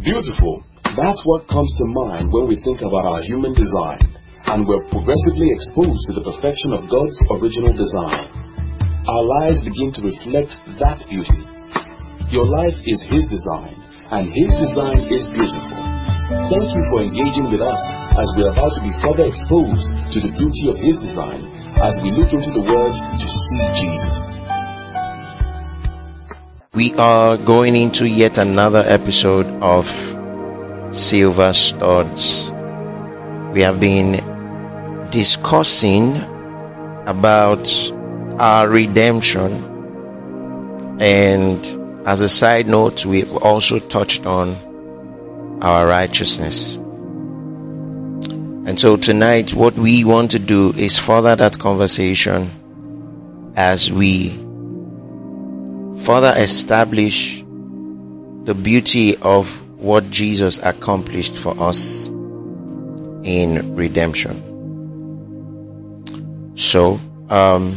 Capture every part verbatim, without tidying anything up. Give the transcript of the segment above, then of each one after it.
Beautiful. That's what comes to mind when we think about our human design, and we're progressively exposed to the perfection of God's original design. Our lives begin to reflect that beauty. Your life is His design, and His design is beautiful. Thank you for engaging with us as we are about to be further exposed to the beauty of His design as we look into the Word to see Jesus. We are going into yet another episode of Silver Studs. We have been discussing about our redemption, and as a side note, we've also touched on our righteousness. And so tonight, what we want to do is further that conversation as we further establish the beauty of what Jesus accomplished for us in redemption. So, um,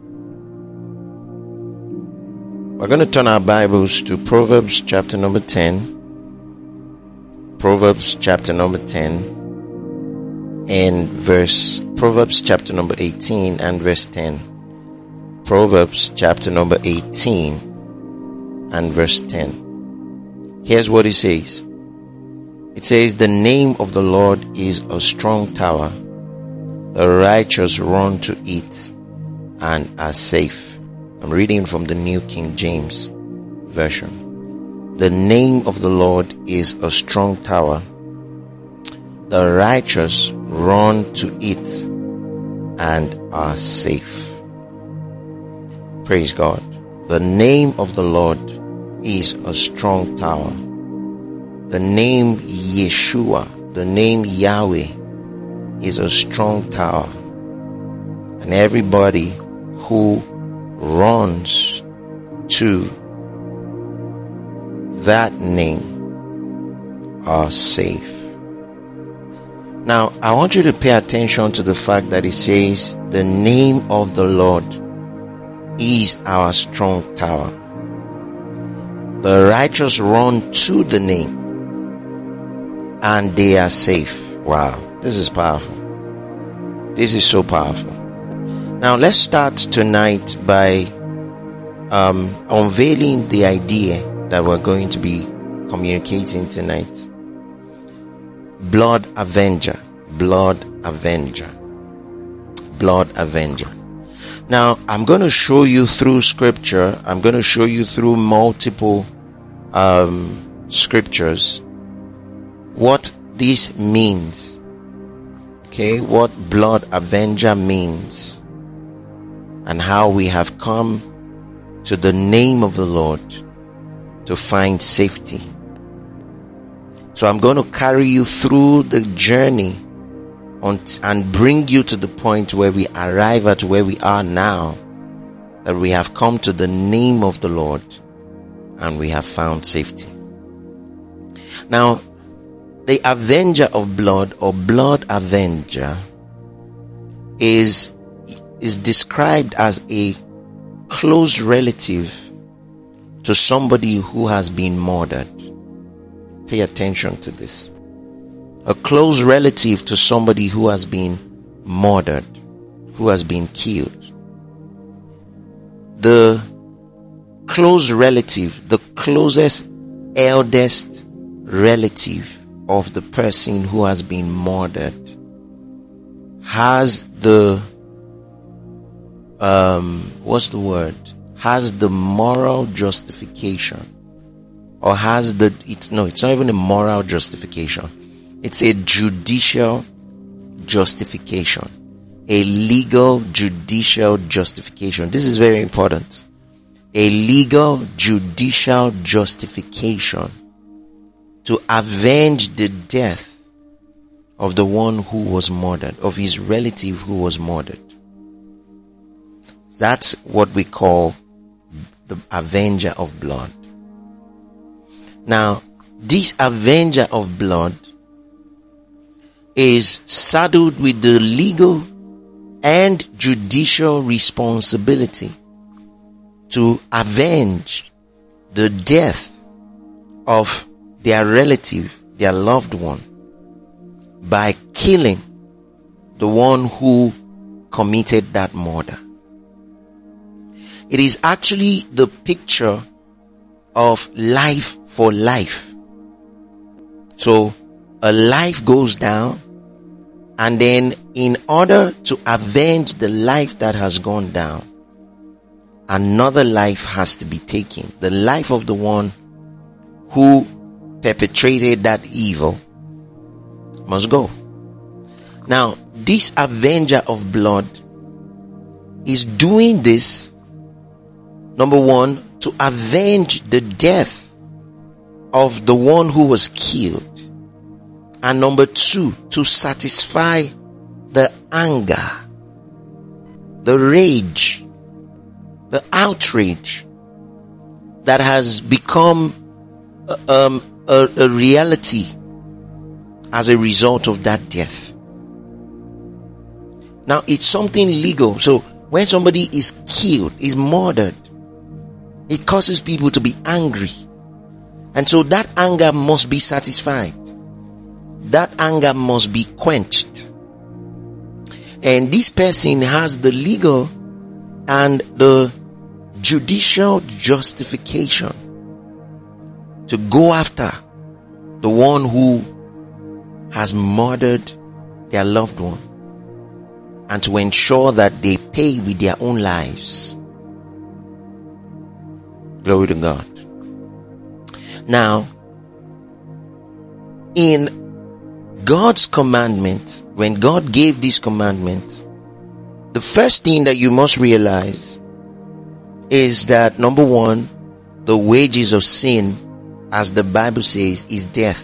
we're going to turn our Bibles to Proverbs chapter number ten. Proverbs chapter number ten and verse, Proverbs chapter number eighteen and verse ten. Proverbs chapter number eighteen and verse ten. Here's what it says. It says, "The name of the Lord is a strong tower. The righteous run to it and are safe." I'm reading from the New King James Version. The name of the Lord is a strong tower. The righteous run to it and are safe. Praise God. The name of the Lord is a strong tower. The name Yeshua, the name Yahweh, is a strong tower. And everybody who runs to that name are safe. Now, I want you to pay attention to the fact that it says, the name of the Lord is our strong tower. The righteous run to the name and they are safe. Wow, this is powerful. This is so powerful. Now, let's start tonight by um, unveiling the idea that we're going to be communicating tonight. Blood Avenger. Blood Avenger. Blood Avenger. Now, I'm going to show you through scripture. I'm going to show you through multiple um, scriptures what this means. Okay, what Blood Avenger means, and how we have come to the name of the Lord to find safety. So I'm going to carry you through the journey on t- and bring you to the point where we arrive at where we are now, that we have come to the name of the Lord and we have found safety. Now, the Avenger of Blood, or Blood Avenger, is is described as a close relative to somebody who has been murdered. Pay attention to this. A close relative to somebody who has been murdered, who has been killed. The close relative, the closest, eldest relative of the person who has been murdered, has the um what's the word has the moral justification, or has the it's no it's not even a moral justification, it's a judicial justification, a legal judicial justification. This is very important. A legal judicial justification to avenge the death of the one who was murdered, of his relative who was murdered. That's what we call the Avenger of Blood. Now, this Avenger of Blood is saddled with the legal and judicial responsibility to avenge the death of their relative, their loved one, by killing the one who committed that murder. It is actually the picture of life for life. So a life goes down, and then in order to avenge the life that has gone down, another life has to be taken. The life of the one who perpetrated that evil must go. Now, this avenger of blood is doing this, number one, to avenge the death of the one who was killed. And number two, to satisfy the anger, the rage, the outrage that has become um, a, a reality as a result of that death. Now, it's something legal. So when somebody is killed, is murdered, it causes people to be angry. And so that anger must be satisfied. That anger must be quenched. And this person has the legal and the judicial justification to go after the one who has murdered their loved one, and to ensure that they pay with their own lives. Glory to God. Now, in God's commandment, when God gave this commandment, the first thing that you must realize is that, number one, the wages of sin, as the Bible says, is death.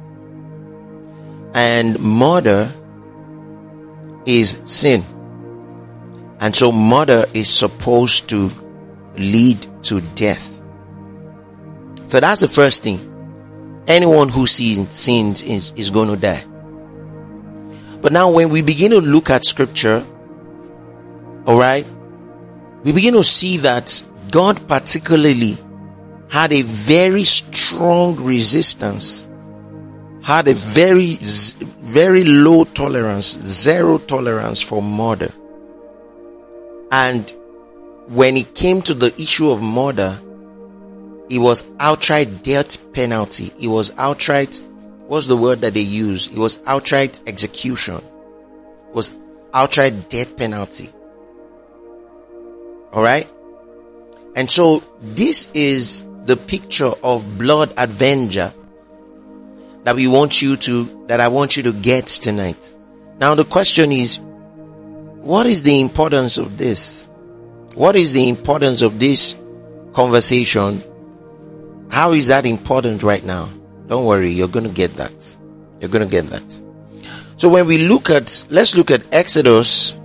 And murder is sin. And so murder is supposed to lead to death. So that's the first thing. Anyone who sins, sins is, is going to die. But now when we begin to look at scripture, alright, we begin to see that God particularly had a very strong resistance, had a very, very low tolerance, zero tolerance for murder. And when it came to the issue of murder, it was outright death penalty. It was outright, what's the word that they use? It was outright execution. It was outright death penalty. Alright? And so this is the picture of blood avenger that we want you to, that I want you to get tonight. Now the question is, what is the importance of this? What is the importance of this conversation? How is that important right now? Don't worry, you're going to get that. You're going to get that. So when we look at, let's look at Exodus,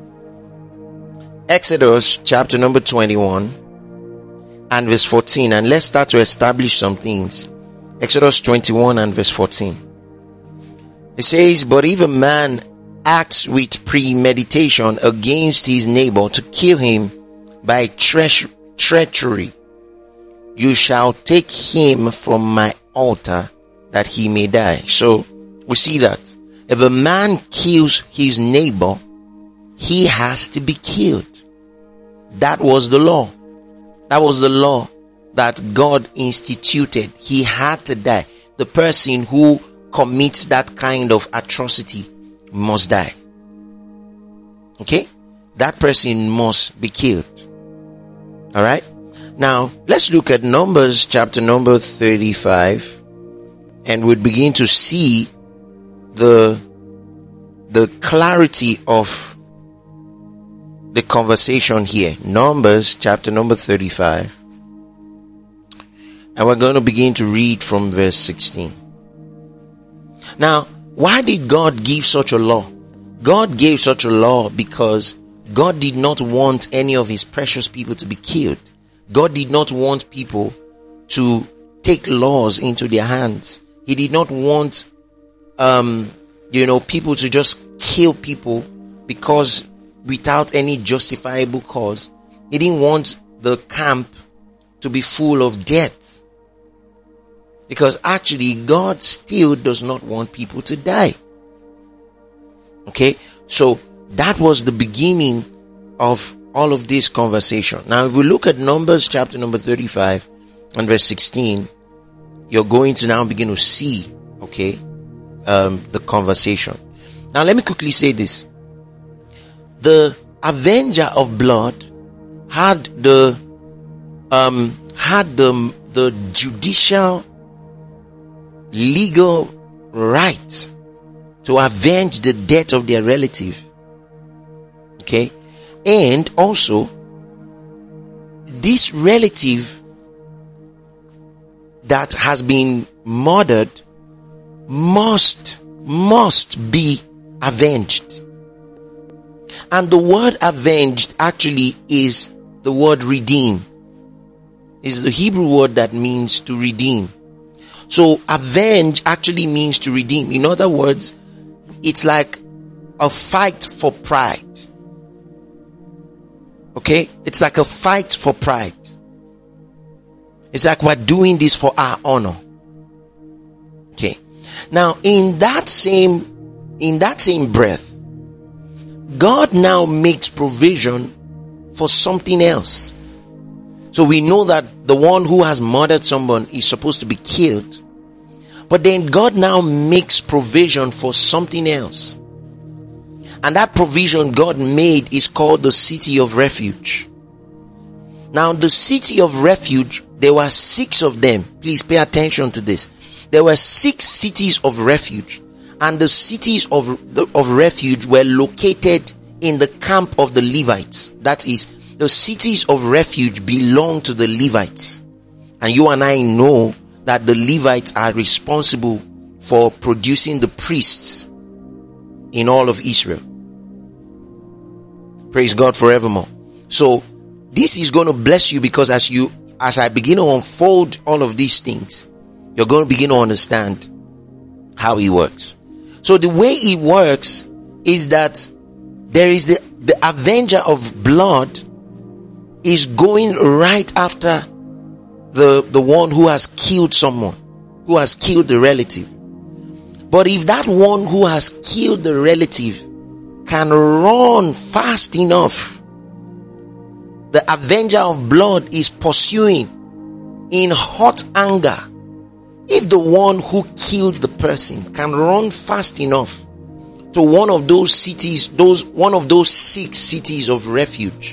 Exodus chapter number twenty-one and verse fourteen, and let's start to establish some things. Exodus twenty-one and verse fourteen. It says, "But if a man acts with premeditation against his neighbor to kill him by tre- treachery, you shall take him from my altar that he may die." So we see that if a man kills his neighbor, he has to be killed. That was the law. That was the law that God instituted. He had to die. The person who commits that kind of atrocity must die. Okay? That person must be killed. Alright? Now, let's look at Numbers chapter number thirty-five, and we'll begin to see the, the clarity of the conversation here. Numbers chapter number thirty-five, and we're going to begin to read from verse sixteen. Now, why did God give such a law? God gave such a law because God did not want any of his precious people to be killed. God did not want people to take laws into their hands. He did not want, um, you know, people to just kill people because without any justifiable cause. He didn't want the camp to be full of death. Because actually God still does not want people to die. Okay, so that was the beginning of all of this conversation. Now if we look at Numbers chapter number thirty-five and verse sixteen, you're going to now begin to see, okay, um, the conversation. Now let me quickly say this. The avenger of blood had the um had the the judicial legal right to avenge the death of their relative. Okay, and also this relative that has been murdered must must be avenged. And the word avenged actually is the word redeem. Is the Hebrew word that means to redeem. So avenge actually means to redeem. In other words, it's like a fight for pride. Okay? It's like a fight for pride. It's like we're doing this for our honor. Okay. Now, in that same, in that same breath, God now makes provision for something else. So we know that the one who has murdered someone is supposed to be killed. But then God now makes provision for something else. And that provision God made is called the city of refuge. Now the city of refuge, there were six of them. Please pay attention to this. There were six cities of refuge. And the cities of, of refuge were located in the camp of the Levites. That is, the cities of refuge belong to the Levites. And you and I know that the Levites are responsible for producing the priests in all of Israel. Praise God forevermore. So this is going to bless you, because as you, as I begin to unfold all of these things, you're going to begin to understand how he works. So the way he works is that there is the, the avenger of blood is going right after the, the one who has killed someone, who has killed the relative. But if that one who has killed the relative can run fast enough, the avenger of blood is pursuing in hot anger. If the one who killed the person can run fast enough to one of those cities, those one of those six cities of refuge,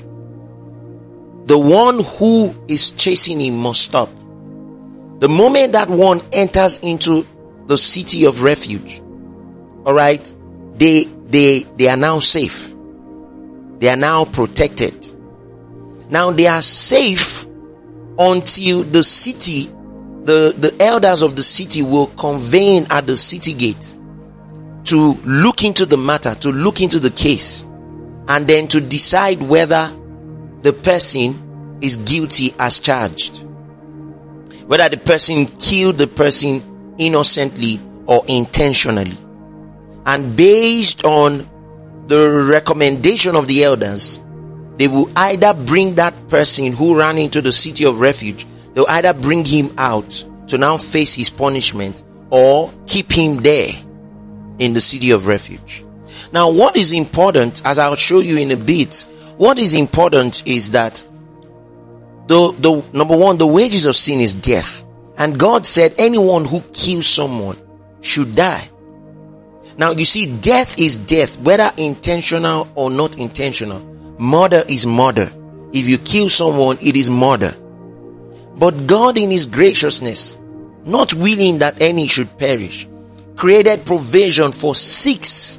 the one who is chasing him must stop. The moment that one enters into the city of refuge, all right, they they they are now safe. They are now protected. Now they are safe until the city, the the elders of the city will convene at the city gate to look into the matter, to look into the case, and then to decide whether the person is guilty as charged, whether the person killed the person innocently or intentionally. And based on the recommendation of the elders, they will either bring that person who ran into the city of refuge, they'll either bring him out to now face his punishment, or keep him there in the city of refuge. Now what is important, as I'll show you in a bit, what is important is that the, the number one, the wages of sin is death. And God said anyone who kills someone should die. Now you see, death is death, whether intentional or not intentional. Murder is murder. If you kill someone, it is murder. But God in his graciousness, not willing that any should perish, created provision for six,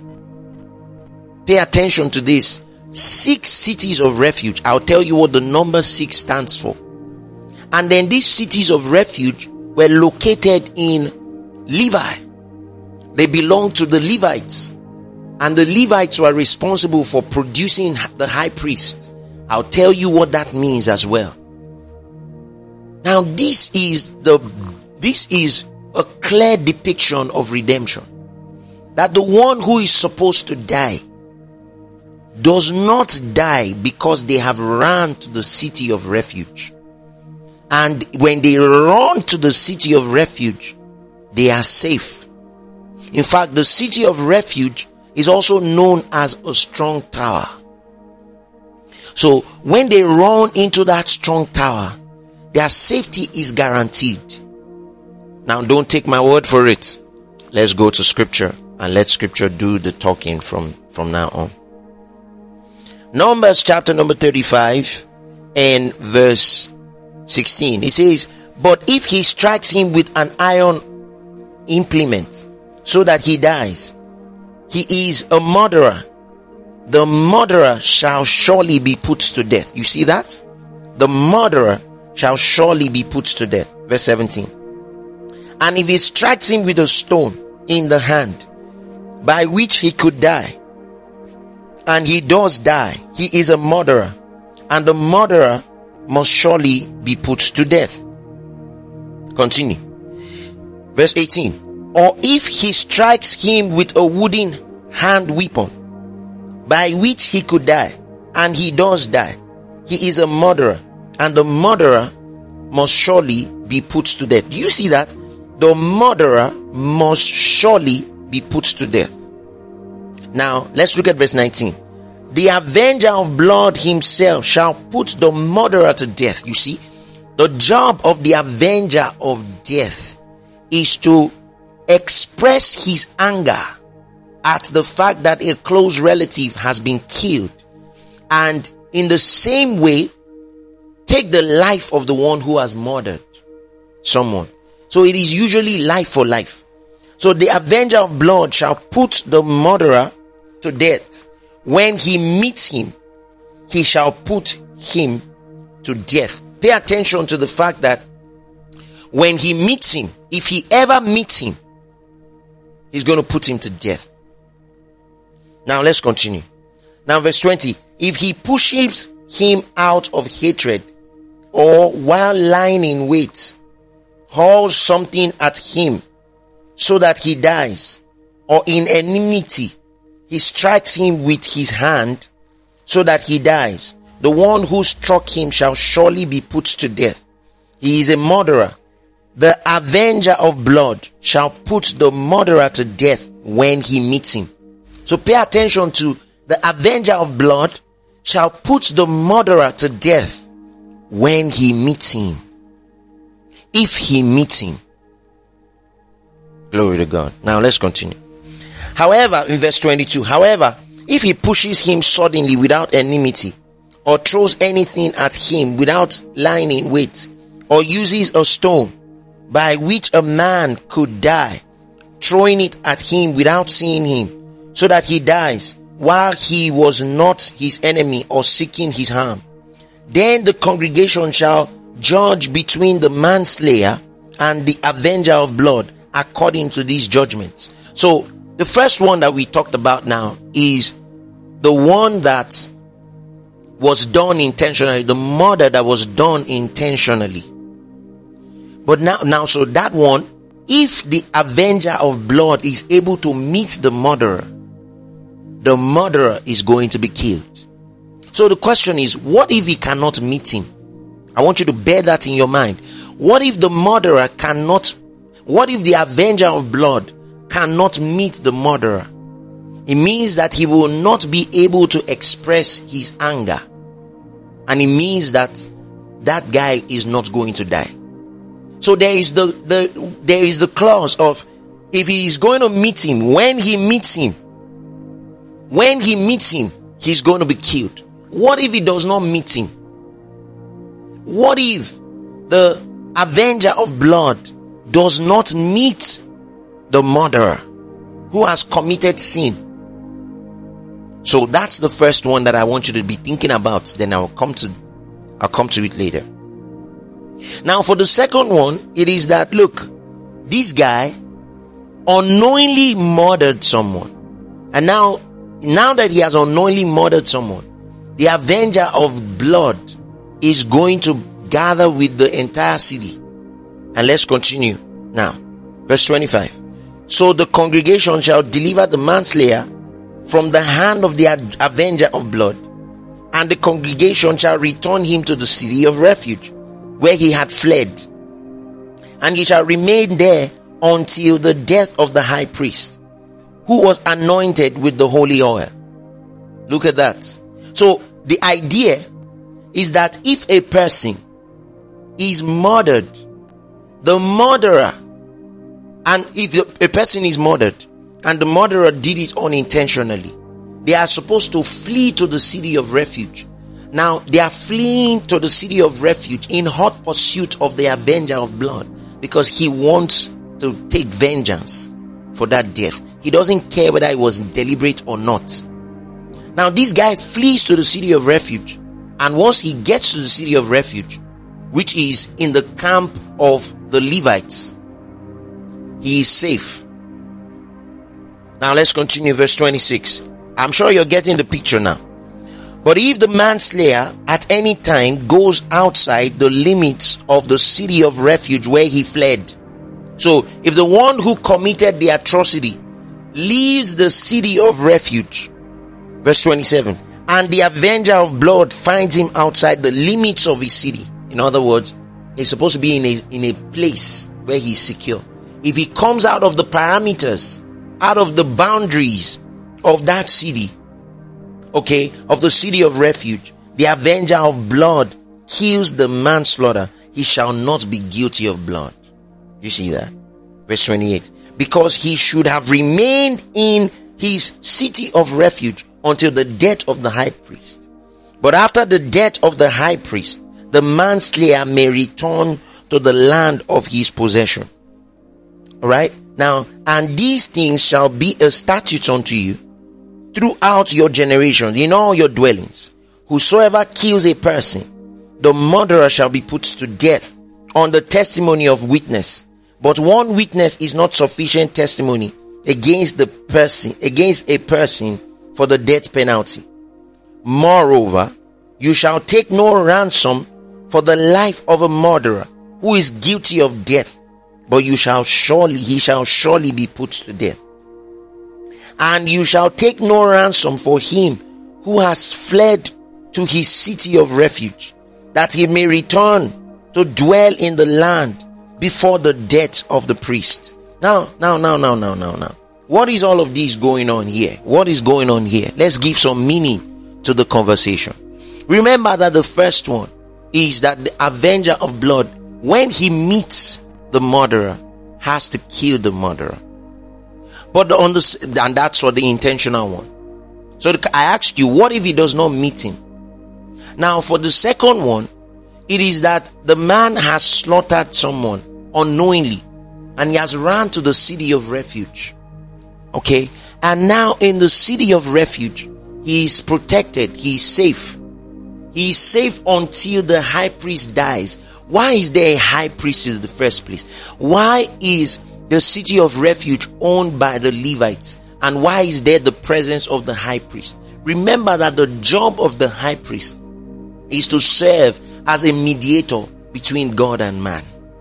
pay attention to this, six cities of refuge. I'll tell you what the number six stands for. And then these cities of refuge were located in Levi. They belonged to the Levites. And the Levites were responsible for producing the high priest. I'll tell you what that means as well. Now this is the, this is a clear depiction of redemption. That the one who is supposed to die does not die because they have run to the city of refuge. And when they run to the city of refuge, they are safe. In fact, the city of refuge is also known as a strong tower. So when they run into that strong tower, their safety is guaranteed. Now don't take my word for it. Let's go to scripture and let scripture do the talking from, from now on. Numbers chapter number thirty-five and verse sixteen. It says, but if he strikes him with an iron implement so that he dies, he is a murderer. The murderer shall surely be put to death. You see that? The murderer shall surely be put to death. Verse seventeen. And if he strikes him with a stone in the hand, by which he could die, and he does die, he is a murderer, and the murderer must surely be put to death. Continue. Verse eighteen. Or if he strikes him with a wooden hand weapon, by which he could die, and he does die, he is a murderer, and the murderer must surely be put to death. Do you see that? The murderer must surely be put to death. Now, let's look at verse nineteen. The avenger of blood himself shall put the murderer to death. You see, the job of the avenger of death is to express his anger at the fact that a close relative has been killed, and in the same way take the life of the one who has murdered someone. So it is usually life for life. So the avenger of blood shall put the murderer to death. When he meets him, he shall put him to death. Pay attention to the fact that when he meets him, if he ever meets him, he's going to put him to death. Now let's continue. Now verse twenty. If he pushes him out of hatred, or while lying in wait, hurls something at him so that he dies, or in enmity, he strikes him with his hand so that he dies, the one who struck him shall surely be put to death. He is a murderer. The avenger of blood shall put the murderer to death when he meets him. So pay attention to the avenger of blood shall put the murderer to death when he meets him. If he meets him. Glory to God. Now let's continue. However, in verse twenty-two, however, if he pushes him suddenly without enmity, or throws anything at him without lying in wait, or uses a stone by which a man could die, throwing it at him without seeing him, so that he dies, while he was not his enemy or seeking his harm, then the congregation shall judge between the manslayer and the avenger of blood according to these judgments. So the first one that we talked about now is the one that was done intentionally, the murder that was done intentionally. But now, now, so that one, if the avenger of blood is able to meet the murderer, the murderer is going to be killed. So the question is, what if he cannot meet him? I want you to bear that in your mind. What if the murderer cannot, what if the avenger of blood cannot meet the murderer? It means that he will not be able to express his anger. And it means that that guy is not going to die. So there is the, the, there is the clause of, if he is going to meet him, when he meets him, when he meets him, he's going to be killed. What if he does not meet him? What if the avenger of blood does not meet the murderer who has committed sin? So that's the first one that I want you to be thinking about. Then I'll come to, I'll come to it later. Now for the second one, it is that, look, this guy unknowingly murdered someone. And now, now that he has unknowingly murdered someone, the avenger of blood is going to gather with the entire city. And let's continue now. Verse twenty-five. So the congregation shall deliver the manslayer from the hand of the avenger of blood, and the congregation shall return him to the city of refuge. where he had fled, and he shall remain there until the death of the high priest, who was anointed with the holy oil. Look at that. So the idea is that if a person is murdered, the murderer, and if a person is murdered and the murderer did it unintentionally, they are supposed to flee to the city of refuge. Now they are fleeing to the city of refuge in hot pursuit of the avenger of blood, because he wants to take vengeance for that death. He doesn't care whether it was deliberate or not. Now this guy flees to the city of refuge, and once he gets to the city of refuge, which is in the camp of the Levites, he is safe. Now let's continue verse twenty-six. I'm sure you're getting the picture now. But if the manslayer at any time goes outside the limits of the city of refuge where he fled. So if the one who committed the atrocity leaves the city of refuge, verse twenty-seven, and the avenger of blood finds him outside the limits of his city. In other words, he's supposed to be in a, in a place where he's secure. If he comes out of the parameters, out of the boundaries of that city, okay, of the city of refuge, the avenger of blood kills the manslaughter, he shall not be guilty of blood. You see that? Verse twenty-eight. Because he should have remained in his city of refuge until the death of the high priest. But after the death of the high priest, the manslayer may return to the land of his possession. Alright? Now, and these things shall be a statute unto you throughout your generations, in all your dwellings. Whosoever kills a person, the murderer shall be put to death on the testimony of witness. But one witness is not sufficient testimony against the person, against a person for the death penalty. Moreover, you shall take no ransom for the life of a murderer who is guilty of death, but you shall surely, he shall surely be put to death. And you shall take no ransom for him who has fled to his city of refuge, that he may return to dwell in the land before the death of the priest. Now, now, now, now, now, now, now. What is all of this going on here? What is going on here? Let's give some meaning to the conversation. Remember that the first one is that the avenger of blood, when he meets the murderer, has to kill the murderer. But on the, and that's for the intentional one. So I asked you, what if he does not meet him? Now for the second one, it is that the man has slaughtered someone unknowingly, and he has run to the city of refuge. Okay, and now in the city of refuge, he is protected, he is safe. He is safe until the high priest dies. Why is there a high priest in the first place? Why is the city of refuge owned by the Levites? And why is there the presence of the high priest? Remember that the job of the high priest is to serve as a mediator between God and man.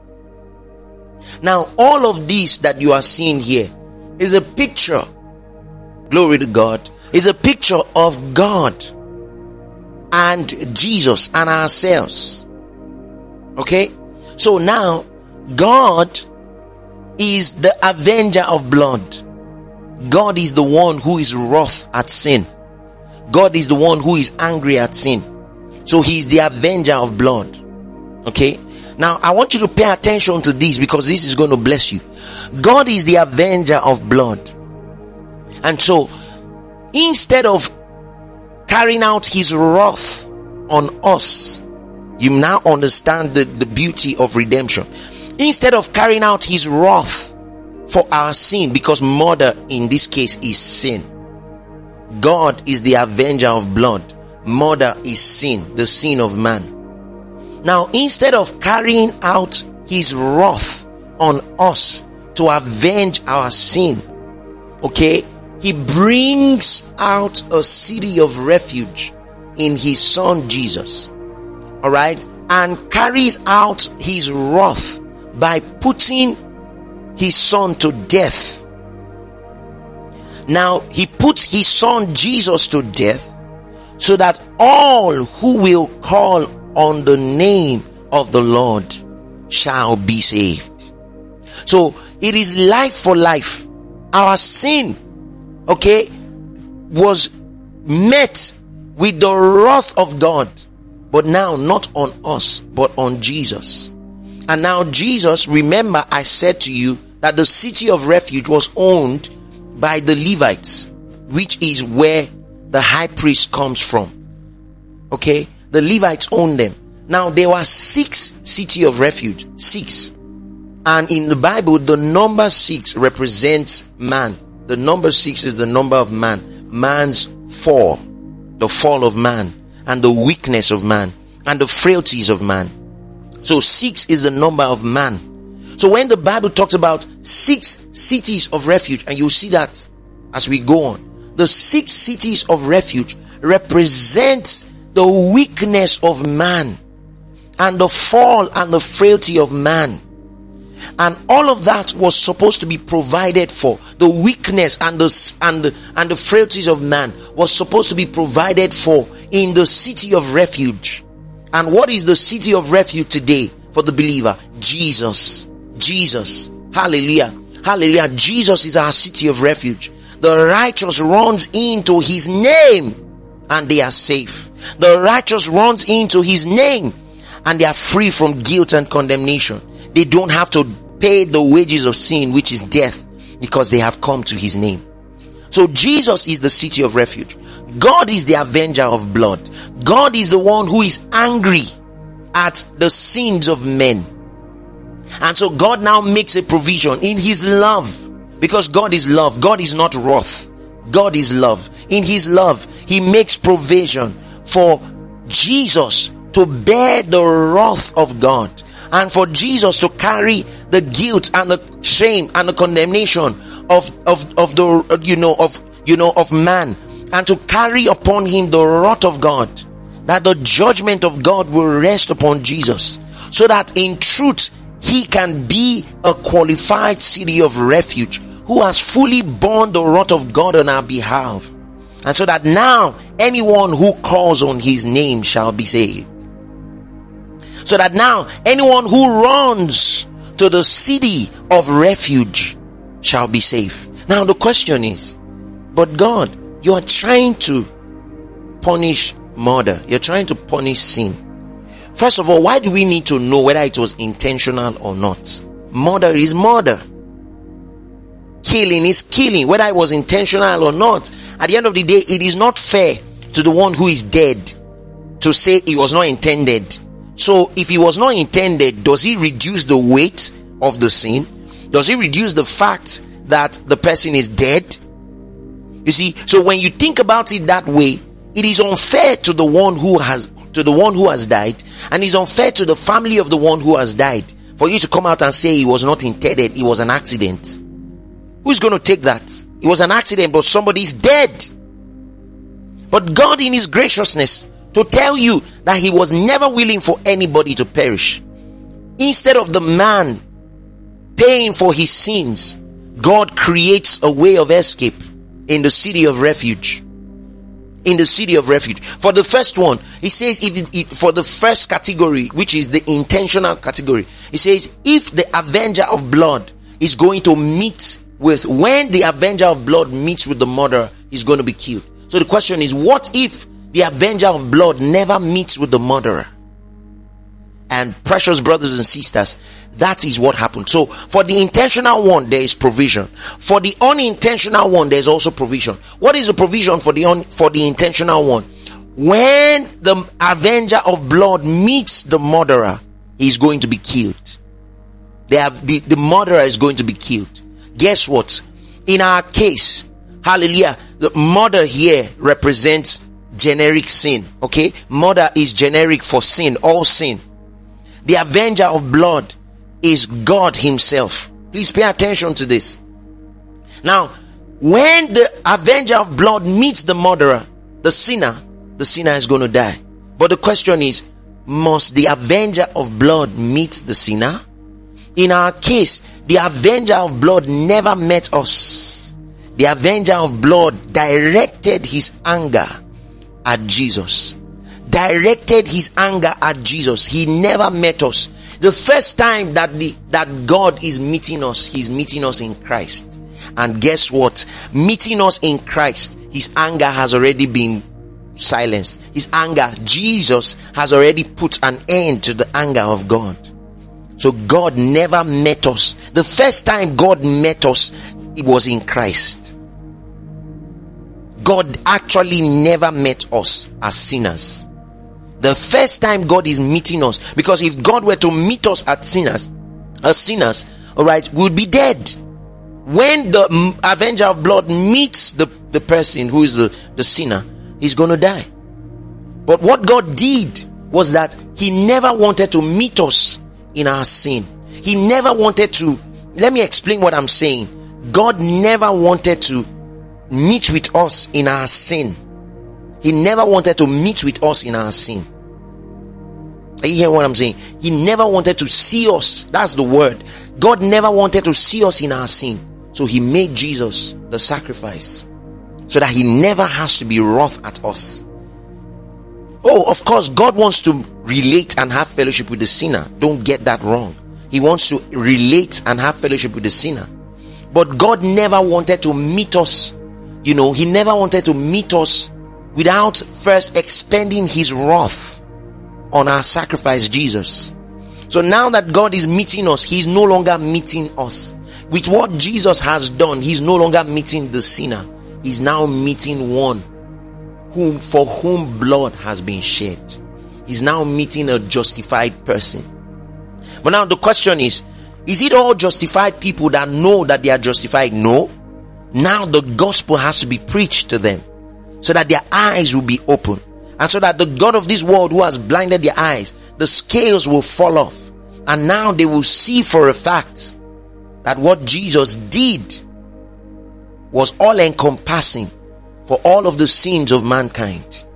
Now, all of this that you are seeing here is a picture, glory to God, is a picture of God and Jesus and ourselves. Okay? So now, God is the avenger of blood. God is the one who is wroth at sin. God is the one who is angry at sin. So he is the avenger of blood. Okay? Now I want you to pay attention to this, because this is going to bless you. God is the avenger of blood. And so instead of carrying out his wrath on us, you now understand the, the beauty of redemption. Instead of carrying out his wrath for our sin, because murder in this case is sin, God is the avenger of blood. Murder is sin, the sin of man. Now, instead of carrying out his wrath on us to avenge our sin, okay, he brings out a city of refuge in his son Jesus, all right, and carries out his wrath by putting his son to death. Now, he puts his son Jesus to death so that all who will call on the name of the Lord shall be saved. So it is life for life. Our sin, okay, was met with the wrath of God, but now not on us, but on Jesus. And now Jesus, remember I said to you that the city of refuge was owned by the Levites, which is where the high priest comes from. Okay, the Levites owned them. Now there were six city of refuge, six. And in the Bible, the number six represents man. The number six is the number of man. Man's fall, the fall of man, and the weakness of man, and the frailties of man. So six is the number of man. So when the Bible talks about six cities of refuge, and you'll see that as we go on, the six cities of refuge represent the weakness of man, and the fall and the frailty of man. And all of that was supposed to be provided for. The weakness and the and the, and the frailties of man was supposed to be provided for in the city of refuge. And what is the city of refuge today for the believer? Jesus. Jesus. Hallelujah. Hallelujah. Jesus is our city of refuge. The righteous runs into his name and they are safe. The righteous runs into his name and they are free from guilt and condemnation. They don't have to pay the wages of sin, which is death, because they have come to his name. So Jesus is the city of refuge. God is the avenger of blood. God is the one who is angry at the sins of men. And so God now makes a provision in his love, because God is love. God is not wrath. God is love. In his love, he makes provision for Jesus to bear the wrath of God, and for Jesus to carry the guilt and the shame and the condemnation of of of the you know of you know of man, and to carry upon him the wrath of God, that the judgment of God will rest upon Jesus, so that in truth he can be a qualified city of refuge who has fully borne the wrath of God on our behalf, and so that now anyone who calls on his name shall be saved. So that now anyone who runs to the city of refuge shall be safe. Now the question is, but God, you are trying to punish murder. You're trying to punish sin. First of all, why do we need to know whether it was intentional or not? Murder is murder. Killing is killing, whether it was intentional or not. At the end of the day, it is not fair to the one who is dead to say it was not intended. So if it was not intended, does he reduce the weight of the sin? Does he reduce the fact that the person is dead? You see, so when you think about it that way, it is unfair to the one who has to the one who has died, and it's unfair to the family of the one who has died for you to come out and say it was not intended, it was an accident. Who's going to take that? It was an accident, but somebody's dead. But God in his graciousness to tell you that he was never willing for anybody to perish. Instead of the man paying for his sins, God creates a way of escape in the city of refuge. In the city of refuge. For the first one, he says, if it, for the first category, which is the intentional category, he says, if the avenger of blood is going to meet with, when the avenger of blood meets with the murderer, he's going to be killed. So the question is, what if the avenger of blood never meets with the murderer? And precious brothers and sisters, that is what happened. So for the intentional one, there is provision. For the unintentional one, there is also provision. What is the provision for the un, for the intentional one? When the avenger of blood meets the murderer, he is going to be killed. They have the, the murderer is going to be killed. Guess what? In our case, hallelujah, the murder here represents generic sin. Okay, murder is generic for sin, all sin. The avenger of blood is God himself. Please pay attention to this. Now, when the avenger of blood meets the murderer, the sinner, the sinner is going to die. But the question is, must the avenger of blood meet the sinner? In our case, the avenger of blood never met us. The avenger of blood directed his anger at Jesus, directed his anger at Jesus. He never met us. The first time that the that God is meeting us, he's meeting us in Christ. And guess what? Meeting us in Christ, his anger has already been silenced. His anger, Jesus has already put an end to the anger of God. So God never met us. The first time God met us, it was in Christ. God actually never met us as sinners. The first time God is meeting us, because if God were to meet us as sinners, as sinners, all right, we would be dead. When the avenger of blood meets the, the person who is the, the sinner, he's going to die. But what God did was that he never wanted to meet us in our sin. He never wanted to, let me explain what I'm saying. God never wanted to meet with us in our sin. He never wanted to meet with us in our sin. Are you hearing what I'm saying? He never wanted to see us. That's the word. God never wanted to see us in our sin. So he made Jesus the sacrifice, so that he never has to be wroth at us. Oh, of course, God wants to relate and have fellowship with the sinner. Don't get that wrong. He wants to relate and have fellowship with the sinner. But God never wanted to meet us. You know, he never wanted to meet us without first expending his wrath on our sacrifice, Jesus. So now that God is meeting us, he's no longer meeting us. With what Jesus has done, he's no longer meeting the sinner. He's now meeting one whom, for whom blood has been shed. He's now meeting a justified person. But now the question is, is it all justified people that know that they are justified? No. Now the gospel has to be preached to them, so that their eyes will be open, and so that the God of this world who has blinded their eyes, the scales will fall off, and now they will see for a fact that what Jesus did was all encompassing for all of the sins of mankind.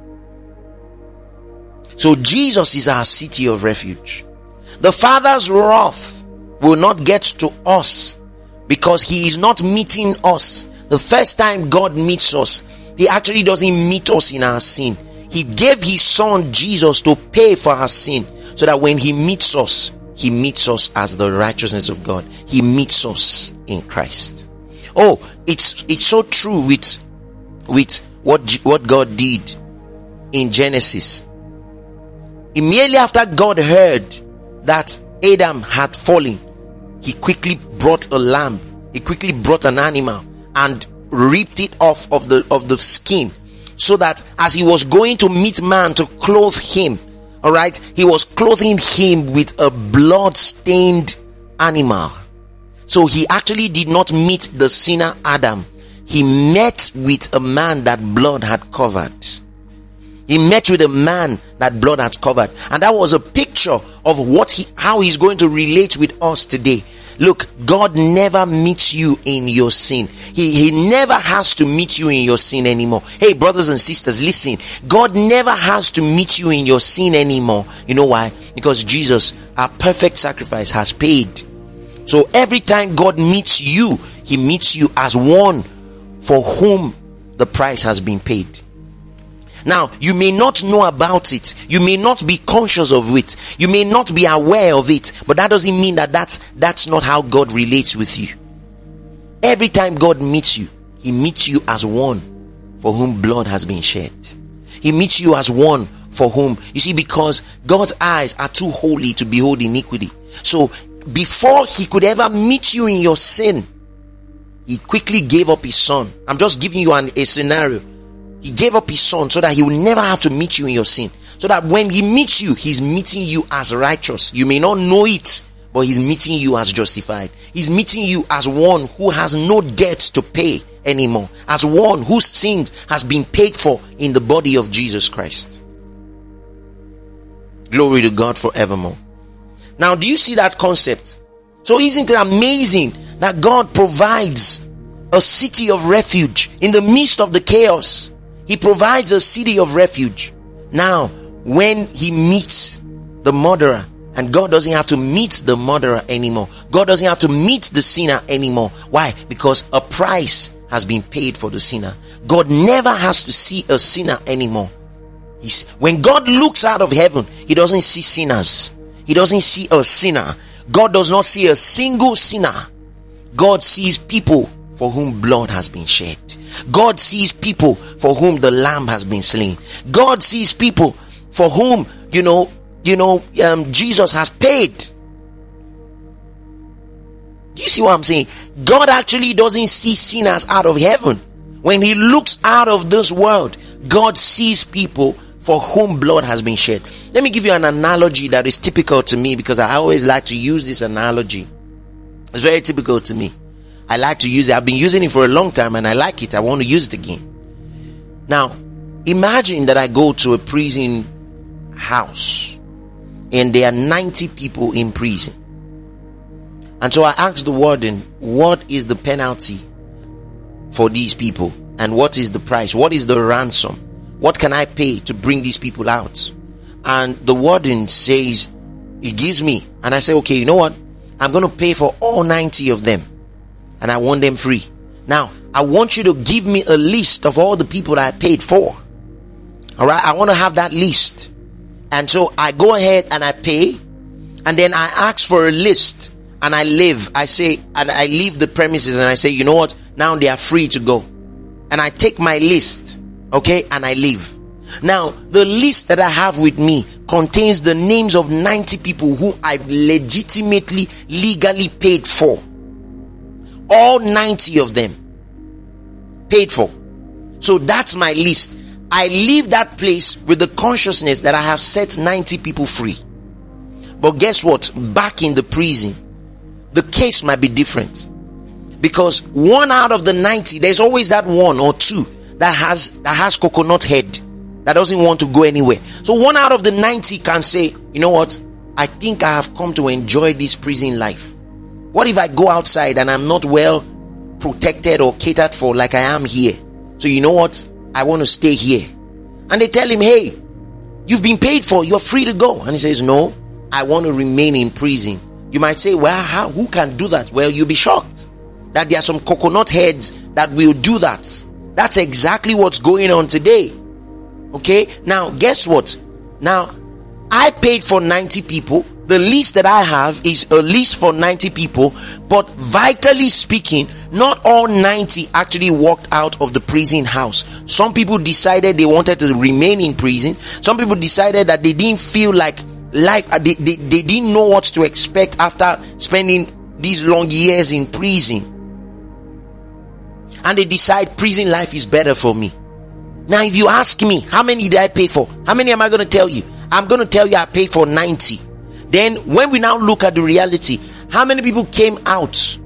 So Jesus is our city of refuge. The Father's wrath will not get to us, because he is not meeting us. The first time God meets us, he actually doesn't meet us in our sin. He gave his son Jesus to pay for our sin, so that when he meets us, he meets us as the righteousness of God. He meets us in Christ. Oh, it's it's so true with with what what God did in Genesis. Immediately after God heard that Adam had fallen, he quickly brought a lamb. He quickly brought an animal and ripped it off of the of the skin, so that as he was going to meet man to clothe him, all right, he was clothing him with a blood-stained animal. So he actually did not meet the sinner Adam. He met with a man that blood had covered. He met with a man that blood had covered. And that was a picture of what he, how he's going to relate with us today. Look, God never meets you in your sin. He, he never has to meet you in your sin anymore. Hey, brothers and sisters, listen. God never has to meet you in your sin anymore. You know why? Because Jesus, our perfect sacrifice, has paid. So every time God meets you, he meets you as one for whom the price has been paid. Now, you may not know about it. You may not be conscious of it. You may not be aware of it. But that doesn't mean that that's, that's not how God relates with you. Every time God meets you, he meets you as one for whom blood has been shed. He meets you as one for whom, you see, because God's eyes are too holy to behold iniquity. So before he could ever meet you in your sin, he quickly gave up his son. I'm just giving you an, a scenario. He gave up his son so that he will never have to meet you in your sin. So that when he meets you, he's meeting you as righteous. You may not know it, but he's meeting you as justified. He's meeting you as one who has no debt to pay anymore. As one whose sin has been paid for in the body of Jesus Christ. Glory to God forevermore. Now, do you see that concept? So isn't it amazing that God provides a city of refuge in the midst of the chaos? He provides a city of refuge. Now, when he meets the murderer, and God doesn't have to meet the murderer anymore. God doesn't have to meet the sinner anymore. Why? Because a price has been paid for the sinner. God never has to see a sinner anymore. He's, when God looks out of heaven, he doesn't see sinners. He doesn't see a sinner. God does not see a single sinner. God sees people for whom blood has been shed. God sees people for whom the lamb has been slain. God sees people for whom, you know, you know, um, Jesus has paid. Do you see what I'm saying? God actually doesn't see sinners out of heaven. When he looks out of this world, God sees people for whom blood has been shed. Let me give you an analogy that is typical to me, because I always like to use this analogy. It's very typical to me. I like to use it. I've been using it for a long time and I like it. I want to use it again. Now, imagine that I go to a prison house and there are ninety people in prison. And so I ask the warden, what is the penalty for these people? And what is the price? What is the ransom? What can I pay to bring these people out? And the warden says, he gives me. And I say, okay, you know what? I'm going to pay for all ninety of them. And I want them free. Now, I want you to give me a list of all the people that I paid for. Alright, I want to have that list. And so I go ahead and I pay. And then I ask for a list. And I leave. I say, and I leave the premises and I say, you know what? Now they are free to go. And I take my list. Okay, and I leave. Now, the list that I have with me contains the names of ninety people who I legitimately, legally paid for. All ninety of them. Paid for. So that's my list. I leave that place with the consciousness that I have set ninety people free. But guess what? Back in the prison, the case might be different. Because one out of the ninety, there's always that one or two that has that has coconut head, that doesn't want to go anywhere. So one out of the ninety can say, you know what, I think I have come to enjoy this prison life. What if I go outside and I'm not well protected or catered for like I am here? So you know what, I want to stay here. And they tell him, hey, you've been paid for, you're free to go. And he says, no, I want to remain in prison. You might say, well, how, who can do that? Well, you'll be shocked that there are some coconut heads that will do that. That's exactly what's going on today. Okay, now guess what? Now I paid for ninety people. The list that I have is a list for ninety people, but vitally speaking, not all ninety actually walked out of the prison house. Some people decided they wanted to remain in prison. Some people decided that they didn't feel like life, they, they, they didn't know what to expect after spending these long years in prison. And they decide prison life is better for me. Now, if you ask me, how many did I pay for? How many am I going to tell you? I'm going to tell you I paid for ninety. Then, when we now look at the reality, how many people came out?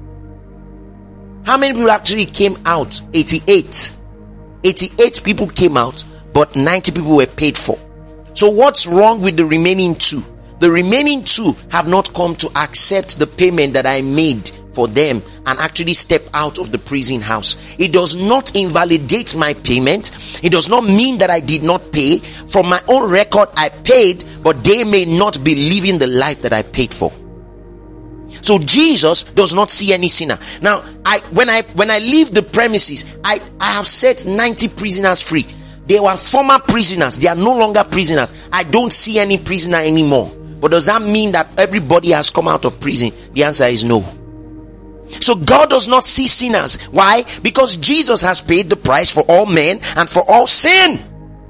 How many people actually came out? eighty-eight. eighty-eight people came out, but ninety people were paid for. So what's wrong with the remaining two? The remaining two have not come to accept the payment that I made for them and actually step out of the prison house. It does not invalidate my payment. It does not mean that I did not pay. From my own record, I paid, but they may not be living the life that I paid for. So Jesus does not see any sinner. Now, I when I when I leave the premises, I, I have set ninety prisoners free. They were former prisoners. They are no longer prisoners. I don't see any prisoner anymore. But does that mean that everybody has come out of prison? The answer is no. So God does not see sinners. Why? Because Jesus has paid the price for all men and for all sin.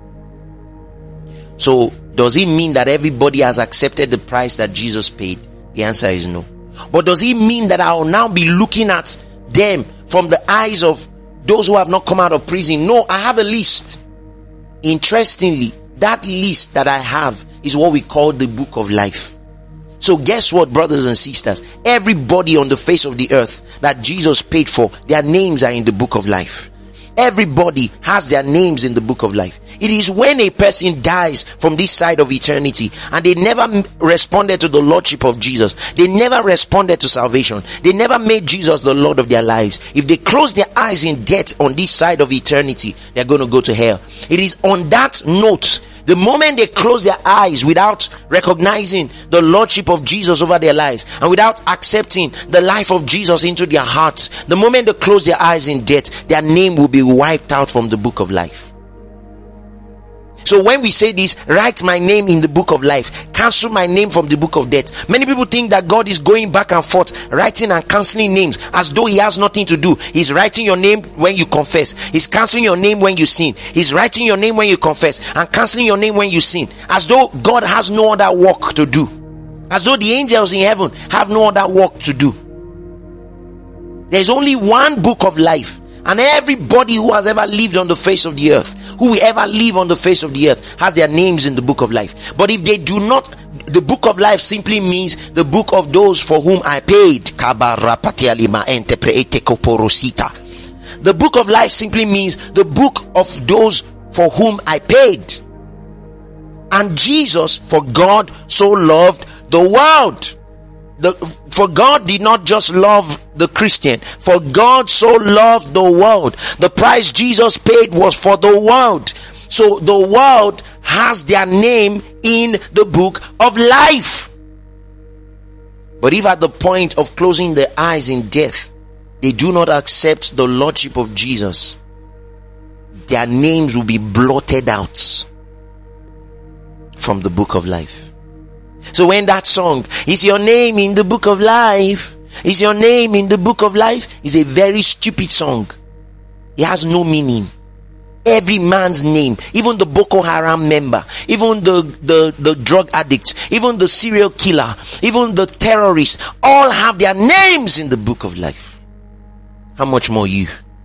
So does it mean that everybody has accepted the price that Jesus paid? The answer is no. But does it mean that I will now be looking at them from the eyes of those who have not come out of prison? No, I have a list. Interestingly, that list that I have is what we call the book of life. So guess what, brothers and sisters? Everybody on the face of the earth that Jesus paid for, their names are in the book of life. Everybody has their names in the book of life. It is when a person dies from this side of eternity and they never responded to the Lordship of Jesus, they never responded to salvation, they never made Jesus the Lord of their lives. If they close their eyes in death on this side of eternity, they're going to go to hell. It is on that note, the moment they close their eyes without recognizing the Lordship of Jesus over their lives and without accepting the life of Jesus into their hearts, the moment they close their eyes in death, their name will be wiped out from the book of life. So when we say this, write my name in the book of life, cancel my name from the book of death. Many people think that God is going back and forth, writing and cancelling names as though he has nothing to do. He's writing your name when you confess. He's cancelling your name when you sin. He's writing your name when you confess and cancelling your name when you sin. As though God has no other work to do. As though the angels in heaven have no other work to do. There's only one book of life. And everybody who has ever lived on the face of the earth, who will ever live on the face of the earth, has their names in the book of life. But if they do not, the book of life simply means the book of those for whom I paid. The book of life simply means the book of those for whom I paid. And Jesus, for God so loved the world. The, for God did not just love the Christian. For God so loved the world. The price Jesus paid was for the world. So the world has their name in the book of life. But if at the point of closing their eyes in death, they do not accept the Lordship of Jesus, their names will be blotted out from the book of life. So when that song, is your name in the book of life? Is your name in the book of life? Is a very stupid song. It has no meaning. Every man's name, even the Boko Haram member, even the, the, the drug addicts, even the serial killer, even the terrorists, all have their names in the book of life. How much more you?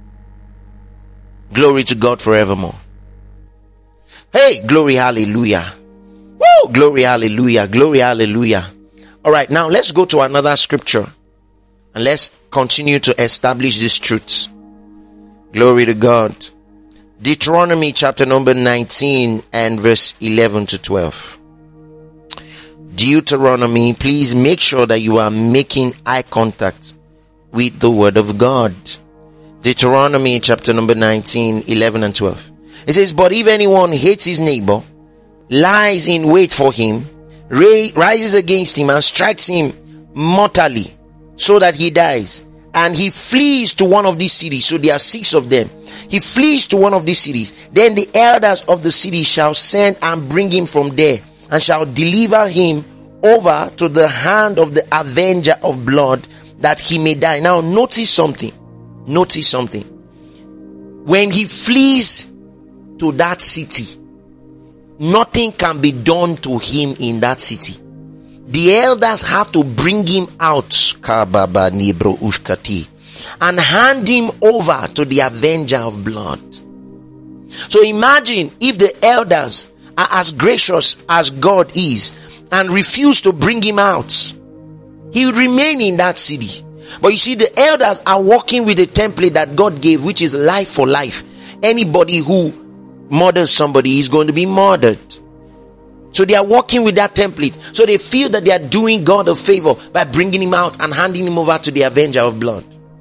Glory to God forevermore. Hey, glory, hallelujah. Woo! Glory, hallelujah. Glory, hallelujah. All right, now let's go to another scripture and let's continue to establish these truths. Glory to God. Deuteronomy chapter number nineteen and verse eleven to twelve. Deuteronomy, please make sure that you are making eye contact with the word of God. Deuteronomy chapter number nineteen, eleven and twelve. It says, but if anyone hates his neighbor, lies in wait for him, rises against him and strikes him mortally so that he dies, and he flees to one of these cities, so there are six of them, he flees to one of these cities, then the elders of the city shall send and bring him from there, and shall deliver him over to the hand of the avenger of blood, that he may die. Now notice something, notice something. When he flees to that city, nothing can be done to him in that city. The elders have to bring him out and hand him over to the avenger of blood. So imagine if the elders are as gracious as God is and refuse to bring him out. He would remain in that city. But you see, the elders are working with the template that God gave, which is life for life. Anybody who murders somebody is going to be murdered. So they are working with that template. So they feel that they are doing God a favor by bringing him out and handing him over to the avenger of blood.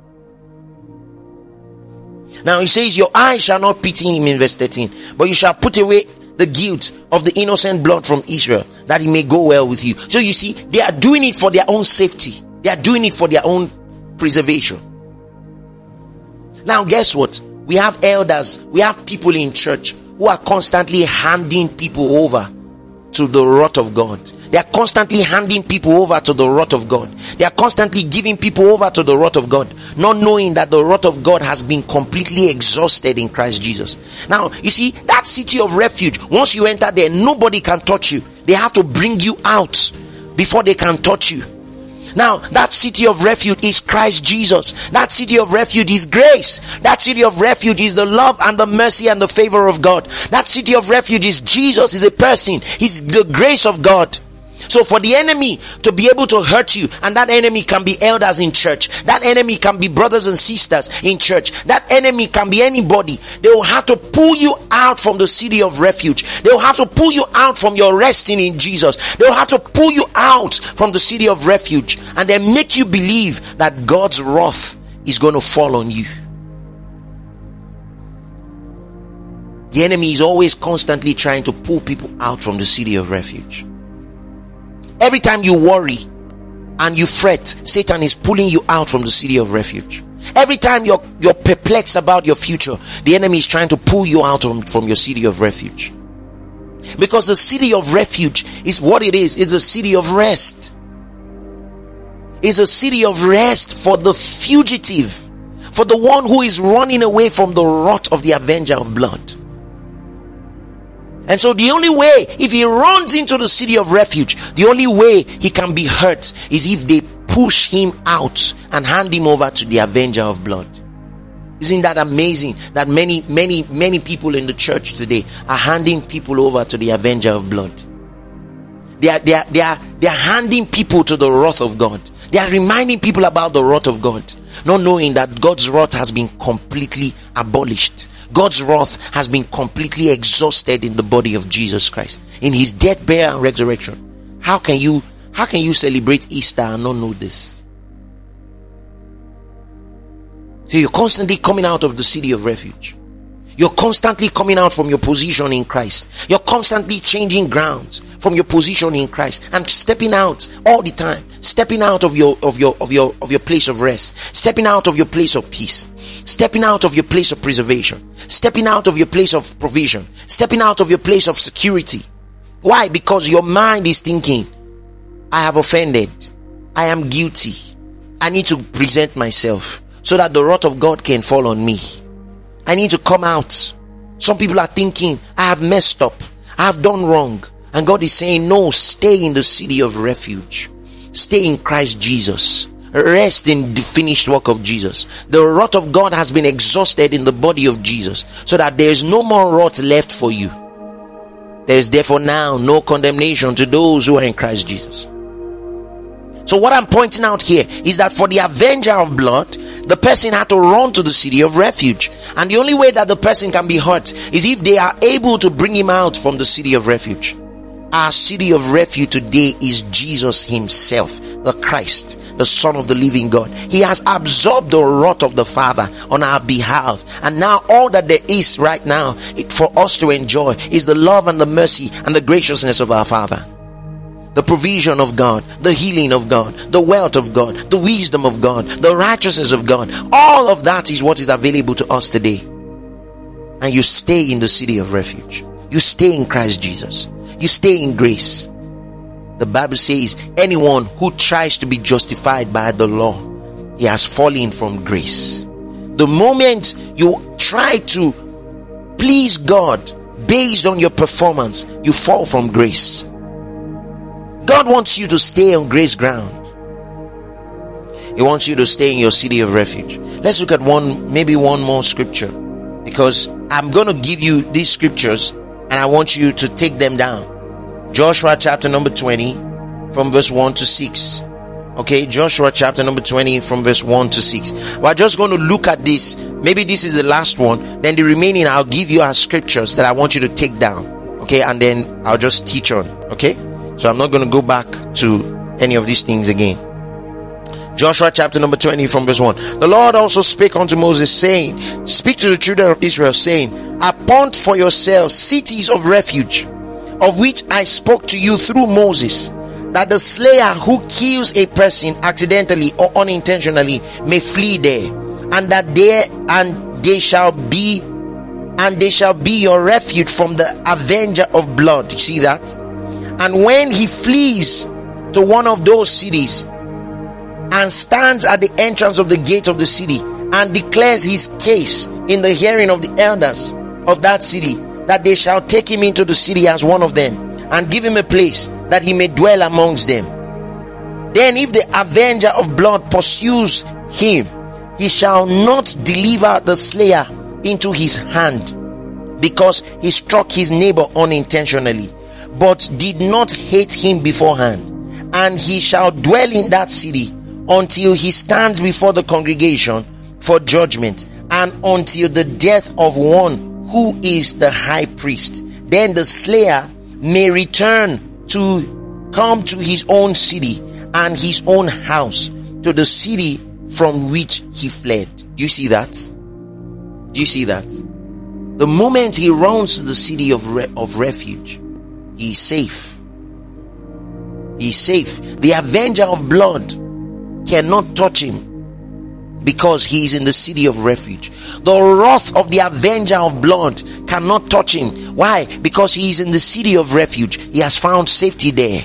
Now he says, your eye shall not pity him in verse thirteen, but you shall put away the guilt of the innocent blood from Israel, that it may go well with you. So you see, they are doing it for their own safety. They are doing it for their own preservation. Now guess what? We have elders, we have people in church who are constantly handing people over to the wrath of God. They are constantly handing people over to the wrath of God. They are constantly giving people over to the wrath of God, not knowing that the wrath of God has been completely exhausted in Christ Jesus. Now, you see, that city of refuge, once you enter there, nobody can touch you. They have to bring you out before they can touch you. Now, that city of refuge is Christ Jesus. That city of refuge is grace. That city of refuge is the love and the mercy and the favor of God. That city of refuge is Jesus, is a person. He's the grace of God. So for the enemy to be able to hurt you, and that enemy can be elders in church, that enemy can be brothers and sisters in church, that enemy can be anybody, they will have to pull you out from the city of refuge. They will have to pull you out from your resting in Jesus. They will have to pull you out from the city of refuge and then make you believe that God's wrath is going to fall on you. The enemy is always constantly trying to pull people out from the city of refuge. Every time you worry and you fret, Satan is pulling you out from the city of refuge. Every time you're, you're perplexed about your future, the enemy is trying to pull you out from, from your city of refuge. Because the city of refuge is what it is. It's a city of rest. It's a city of rest for the fugitive, for the one who is running away from the wrath of the avenger of blood. And so the only way, if he runs into the city of refuge, the only way he can be hurt is if they push him out and hand him over to the avenger of blood. Isn't that amazing that many, many, many people in the church today are handing people over to the avenger of blood? They are, they are, they are, they are handing people to the wrath of God. They are reminding people about the wrath of God, not knowing that God's wrath has been completely abolished. God's wrath has been completely exhausted in the body of Jesus Christ, in his death, burial, and resurrection. How can you, how can you celebrate Easter and not know this? So you're constantly coming out of the city of refuge. You're constantly coming out from your position in Christ. You're constantly changing grounds from your position in Christ and stepping out all the time. Stepping out of your, of your, of your, of your place of rest. Stepping out of your place of peace. Stepping out of your place of preservation. Stepping out of your place of provision. Stepping out of your place of security. Why? Because your mind is thinking, I have offended. I am guilty. I need to present myself so that the wrath of God can fall on me. I need to come out. Some people are thinking, I have messed up. I have done wrong. And God is saying, no, stay in the city of refuge. Stay in Christ Jesus. Rest in the finished work of Jesus. The wrath of God has been exhausted in the body of Jesus, so that there is no more wrath left for you. There is therefore now no condemnation to those who are in Christ Jesus. So what I'm pointing out here is that for the avenger of blood, the person had to run to the city of refuge. And the only way that the person can be hurt is if they are able to bring him out from the city of refuge. Our city of refuge today is Jesus himself, the Christ, the Son of the living God. He has absorbed the wrath of the Father on our behalf. And now all that there is right now it, for us to enjoy is the love and the mercy and the graciousness of our Father. The provision of God, the healing of God, the wealth of God, the wisdom of God, the righteousness of God. All of that is what is available to us today. And you stay in the city of refuge. You stay in Christ Jesus. You stay in grace. The Bible says anyone who tries to be justified by the law, he has fallen from grace. The moment you try to please God based on your performance, you fall from grace. God wants you to stay on grace ground. He wants you to stay in your city of refuge. Let's look at one, maybe one more scripture, because I'm going to give you these scriptures and I want you to take them down. Joshua chapter number twenty from verse one to six. Okay, Joshua chapter number twenty from verse one to six. We're just going to look at this. Maybe this is the last one. Then the remaining I'll give you as scriptures that I want you to take down. Okay, and then I'll just teach on. Okay, so I'm not going to go back to any of these things again. Joshua chapter number twenty from verse one. The Lord also spake unto Moses, saying, speak to the children of Israel, saying, appoint for yourselves cities of refuge, of which I spoke to you through Moses, that the slayer who kills a person accidentally or unintentionally may flee there, and that there and they shall be and they shall be your refuge from the avenger of blood. You see that? And when he flees to one of those cities and stands at the entrance of the gate of the city and declares his case in the hearing of the elders of that city, that they shall take him into the city as one of them and give him a place that he may dwell amongst them. Then if the avenger of blood pursues him, he shall not deliver the slayer into his hand, because he struck his neighbor unintentionally, but did not hate him beforehand. And he shall dwell in that city until he stands before the congregation for judgment, and until the death of one who is the high priest. Then the slayer may return to come to his own city and his own house, to the city from which he fled. Do you see that? Do you see that? The moment he runs to the city of re- of refuge, he is safe. He is safe. The avenger of blood cannot touch him. because he is in the city of refuge. The wrath of the avenger of blood cannot touch him. Why? Because he is in the city of refuge. He has found safety there.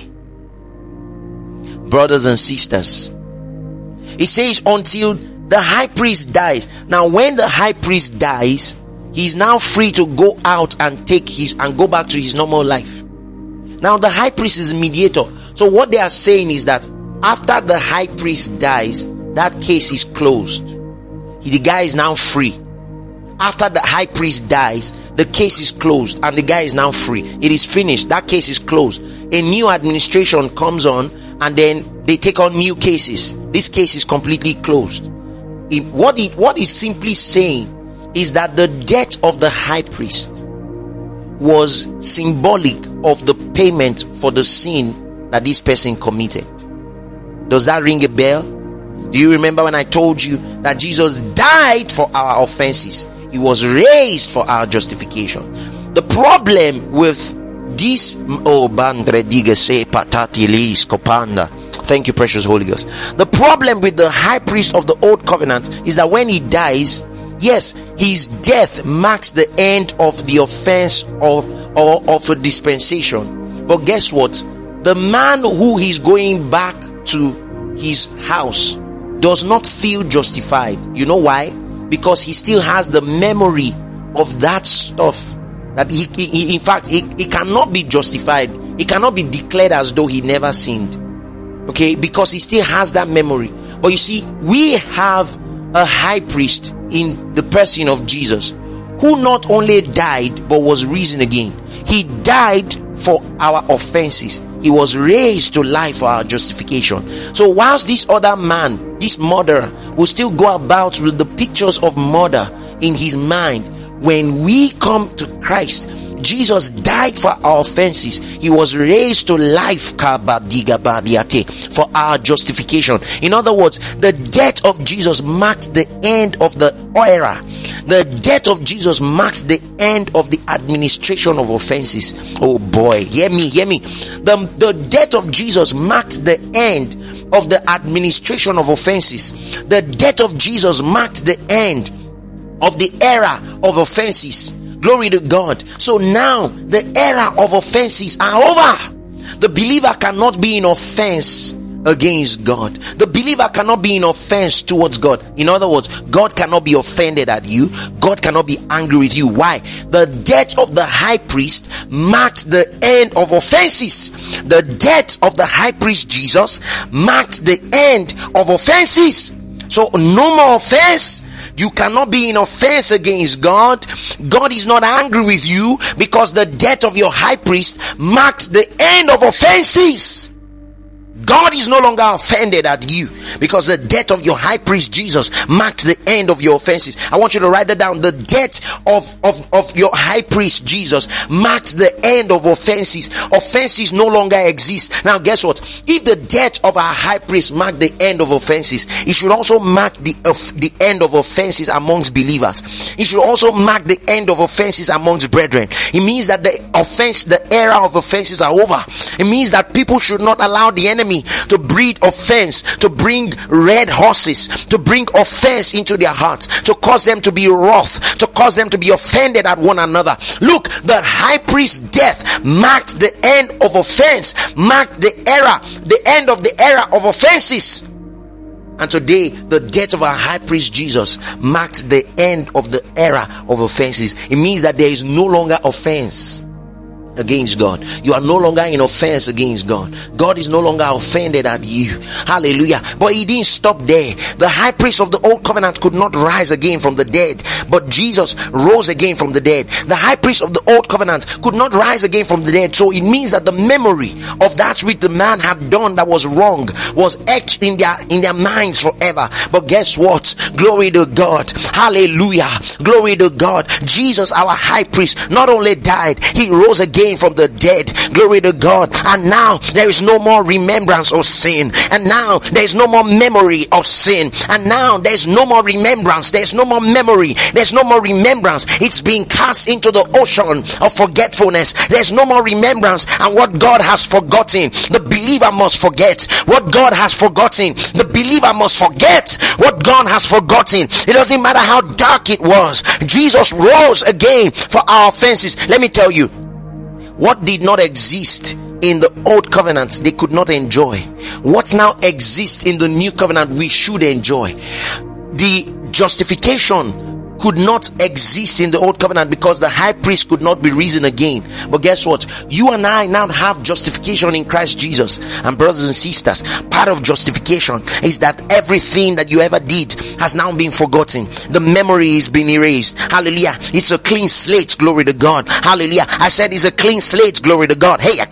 Brothers and sisters, it says until the high priest dies. Now when the high priest dies, he is now free to go out and take his and go back to his normal life. Now the high priest is a mediator. So what they are saying is that after the high priest dies, that case is closed. He, the guy is now free. After the high priest dies, the case is closed and the guy is now free. It is finished. That case is closed. A new administration comes on and then they take on new cases. This case is completely closed. It, what it what is simply saying is that the death of the high priest was symbolic of the payment for the sin that this person committed. Does that ring a bell? Do you remember when I told you that Jesus died for our offenses? He was raised for our justification. The problem with this, oh, bandre digese patatilis copanda. Thank you, precious Holy Ghost. The problem with the high priest of the old covenant is that when he dies, yes, his death marks the end of the offense of, or of a dispensation. But guess what? The man who is going back to his house does not feel justified. You know why? Because he still has the memory of that stuff that he, he in fact he, he cannot be justified. He cannot be declared as though he never sinned. Okay, because he still has that memory. But you see, we have a high priest in the person of Jesus, who not only died but was risen again. He died for our offenses. He was raised to life for our justification. So whilst this other man, this murderer, will still go about with the pictures of murder in his mind, when we come to Christ, Jesus died for our offenses. He was raised to life for our justification. In other words, the death of Jesus marked the end of the era. The death of Jesus marks the end of the administration of offenses. Oh boy, hear me, hear me. The, the death of Jesus marked the end of the administration of offenses. The death of Jesus marked the end of the era of offenses. Glory to God. So now the era of offenses are over. The believer cannot be in offense against God. The believer cannot be in offense towards God. In other words, God cannot be offended at you. God cannot be angry with you. Why? The death of the high priest marked the end of offenses. The death of the high priest Jesus marked the end of offenses. So no more offense. You cannot be in offense against God. God is not angry with you because the death of your high priest marked the end of offenses. God is no longer offended at you because the death of your high priest Jesus marked the end of your offenses. I want you to write that down. The death of, of, of your high priest Jesus marked the end of offenses. Offenses no longer exist. Now guess what? If the death of our high priest marked the end of offenses, it should also mark the, of the end of offenses amongst believers. It should also mark the end of offenses amongst brethren. It means that the offense, the era of offenses are over. It means that people should not allow the enemy to breed offense, to bring red horses, to bring offense into their hearts, to cause them to be wroth, to cause them to be offended at one another. Look, the high priest's death marked the end of offense, marked the era, the end of the era of offenses. And today, the death of our high priest Jesus marks the end of the era of offenses. It means that there is no longer offense against God. You are no longer in offense against God. God is no longer offended at you. Hallelujah. But he didn't stop there. The high priest of the old covenant could not rise again from the dead, but Jesus rose again from the dead. The high priest of the old covenant could not rise again from the dead. So it means that the memory of that which the man had done that was wrong was etched in their in their minds forever. But guess what? Glory to God. Hallelujah. Glory to God. Jesus, our high priest, not only died, he rose again again from the dead. Glory to God. And now there is no more remembrance of sin. And now there is no more memory of sin. And now there is no more remembrance. There is no more memory. There is no more remembrance. It's being cast into the ocean of forgetfulness. There is no more remembrance. And what God has forgotten, the believer must forget. What God has forgotten, the believer must forget. What God has forgotten. It doesn't matter how dark it was. Jesus rose again for our offenses. Let me tell you, what did not exist in the old covenant, they could not enjoy. What now exists in the new covenant, we should enjoy. The justification could not exist in the old covenant because the high priest could not be risen again. But guess what? You and I now have justification in Christ Jesus. And brothers and sisters, part of justification is that everything that you ever did has now been forgotten. The memory is being erased. Hallelujah. It's a clean slate. Glory to God. Hallelujah. I said it's a clean slate. Glory to God. Hey,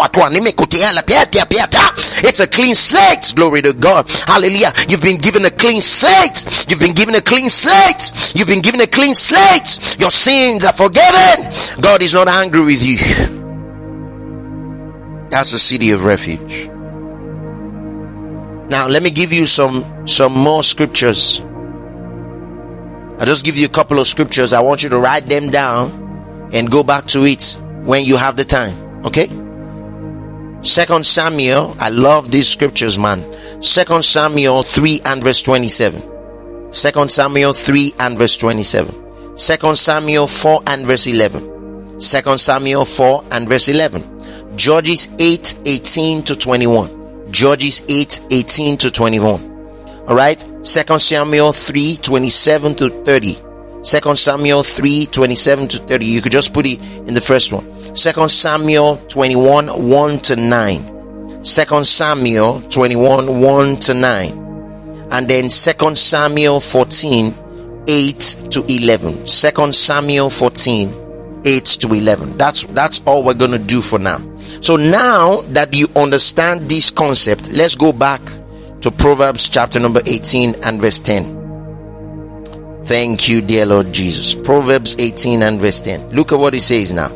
it's a clean slate. Glory to God. Hallelujah. You've been given a clean slate. You've been given a clean slate. You've been given a clean slate. Your sins are forgiven. God is not angry with you. That's a city of refuge. Now let me give you some some more scriptures. I'll just give you a couple of scriptures. I want you to write them down and go back to it when you have the time. Okay? Second Samuel. I love these scriptures, man. Second Samuel three and verse twenty-seven. Second Samuel three and verse twenty-seven. Second Samuel four and verse eleven. Second Samuel four and verse eleven. Judges eight eighteen to twenty-one. Judges eight eighteen to twenty-one. Alright. Second Samuel three twenty-seven to thirty. Second Samuel three twenty-seven to thirty. You could just put it in the first one. Second Samuel twenty-one one to nine. Second Samuel twenty-one one to nine. And then Second Samuel fourteen eight to eleven. Second Samuel fourteen eight to eleven. That's that's all we're going to do for now. So now that you understand this concept, let's go back to Proverbs chapter number eighteen and verse ten. Thank you, dear Lord Jesus. Proverbs eighteen and verse ten. Look at what it says now.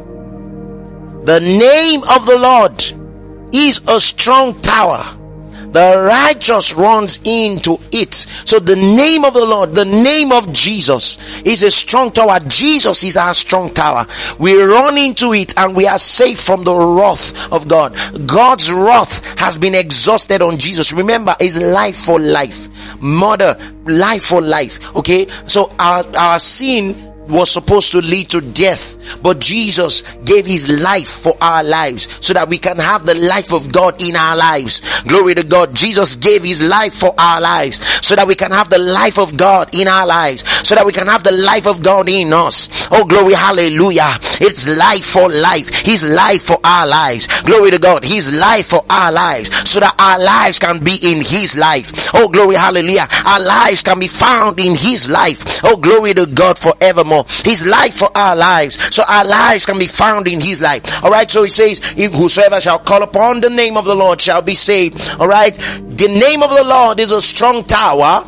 The name of the Lord is a strong tower. The righteous runs into it. So the name of the Lord, the name of Jesus is a strong tower. Jesus is our strong tower. We run into it and we are safe from the wrath of God. God's wrath has been exhausted on Jesus. Remember, it's life for life. Murder, life for life. Okay. So our, our sin was supposed to lead to death, but Jesus gave his life for our lives so that we can have the life of God in our lives. Glory to God. Jesus gave his life for our lives so that we can have the life of God in our lives, so that we can have the life of God in us. Oh, glory, hallelujah. It's life for life. His life for our lives. Glory to God. His life for our lives so that our lives can be in his life. Oh, glory, hallelujah. Our lives can be found in his life. Oh, glory to God forevermore. His life for our lives, so our lives can be found in his life. All right, so he says, if whosoever shall call upon the name of the Lord shall be saved. All right, the name of the Lord is a strong tower.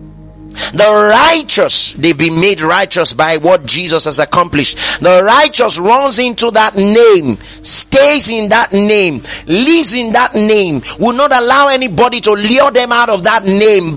The righteous, they've been made righteous by what Jesus has accomplished. The righteous runs into that name, stays in that name, lives in that name, will not allow anybody to lure them out of that name.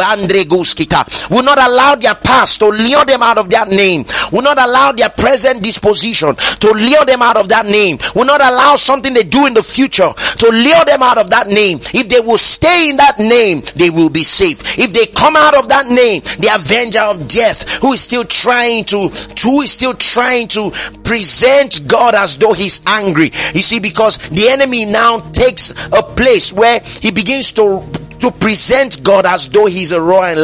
Will not allow their past to lure them out of that name. Will not allow their present disposition to lure them out of that name. Will not allow something they do in the future to lure them out of that name. If they will stay in that name, they will be safe. If they come out of that name, they avenger of death, who is still trying to who is still trying to present God as though he's angry. You see, because the enemy now takes a place where he begins to to present God as though he's a roaring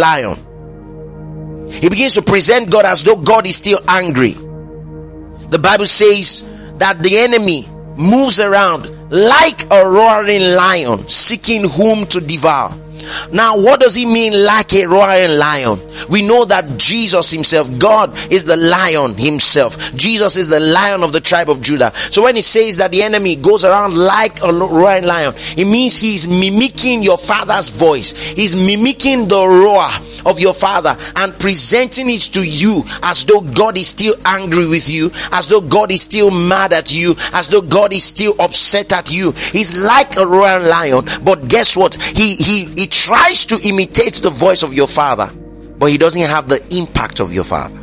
lion. He begins to present God as though God is still angry. The Bible says that the enemy moves around like a roaring lion, seeking whom to devour. Now, what does he mean like a roaring lion? We know that Jesus himself, God is the lion himself. Jesus is the lion of the tribe of Judah. So when he says that the enemy goes around like a roaring lion, it means he's mimicking your father's voice. He's mimicking the roar of your father and presenting it to you as though God is still angry with you, as though God is still mad at you, as though God is still upset at you. He's like a roaring lion, but guess what? He, he, he tries to imitate the voice of your father, but he doesn't have the impact of your father.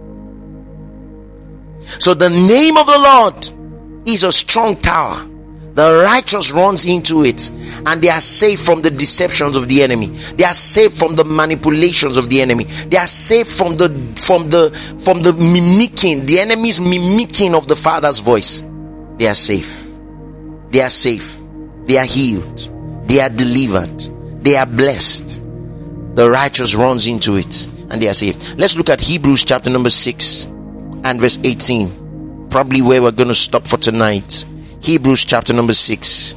So the name of the Lord is a strong tower. The righteous runs into it and they are safe from the deceptions of the enemy. They are safe from the manipulations of the enemy. They are safe from the from the from the mimicking, the enemy's mimicking of the Father's voice. They are safe. They are safe. They are healed. They are delivered. They are blessed. The righteous runs into it and they are saved. Let's look at Hebrews chapter number six and verse eighteen. Probably where we're going to stop for tonight. Hebrews chapter number six.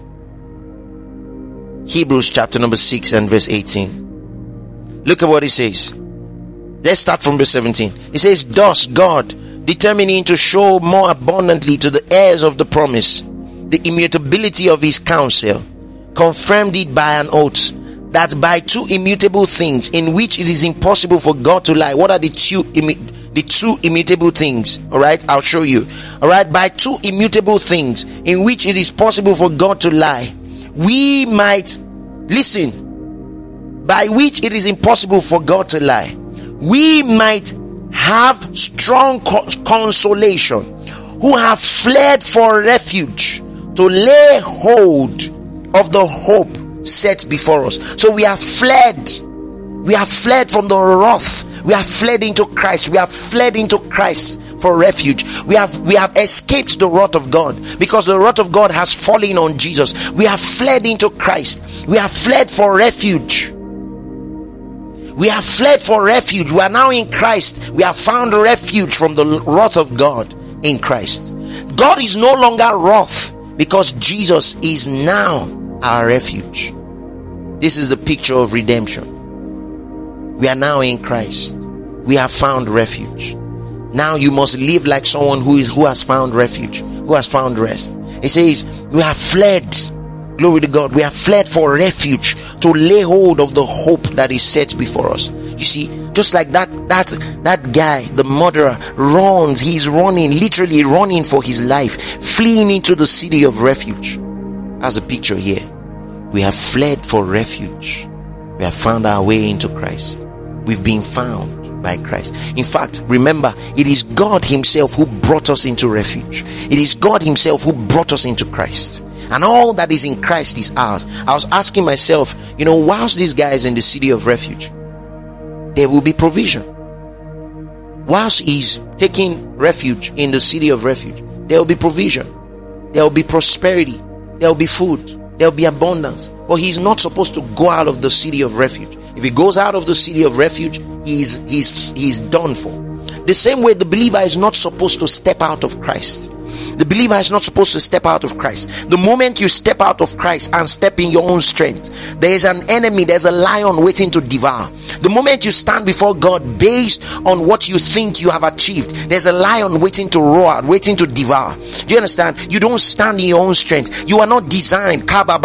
Hebrews chapter number six and verse eighteen. Look at what it says. Let's start from verse seventeen. It says, thus God, determining to show more abundantly to the heirs of the promise the immutability of his counsel, confirmed it by an oath, that by two immutable things in which it is impossible for God to lie. What are the two immutable The two immutable things? All right, I'll show you. All right, by two immutable things in which it is possible for God to lie, we might, listen, by which it is impossible for God to lie, we might have strong consolation, who have fled for refuge, to lay hold of the hope set before us. So we have fled. We have fled from the wrath. We have fled into Christ. We have fled into Christ for refuge. We have we have escaped the wrath of God because the wrath of God has fallen on Jesus. We have fled into Christ. We have fled for refuge. We have fled for refuge. We are now in Christ. We have found refuge from the wrath of God in Christ. God is no longer wrath because Jesus is now our refuge. This is the picture of redemption. We are now in Christ. We have found refuge. Now you must live like someone who is who has found refuge, who has found rest. It says, we have fled. Glory to God. We have fled for refuge, to lay hold of the hope that is set before us. You see, just like that, that, that guy, the murderer, runs. He's running, literally running for his life, fleeing into the city of refuge. As a picture here, we have fled for refuge. We have found our way into Christ. We've been found by Christ. In fact, remember, it is God himself who brought us into refuge. It is God himself who brought us into Christ. And all that is in Christ is ours. I was asking myself, you know, whilst these guys in the city of refuge, there will be provision. Whilst he's taking refuge in the city of refuge, there will be provision. There will be prosperity. There will be food. There will be abundance. But he's not supposed to go out of the city of refuge. If he goes out of the city of refuge, he's he's he's done for. The same way the believer is not supposed to step out of Christ. The believer is not supposed to step out of Christ. The moment you step out of Christ and step in your own strength, there is an enemy, there's a lion waiting to devour. The moment you stand before God based on what you think you have achieved, there's a lion waiting to roar, waiting to devour. Do you understand? You don't stand in your own strength. You are not designed,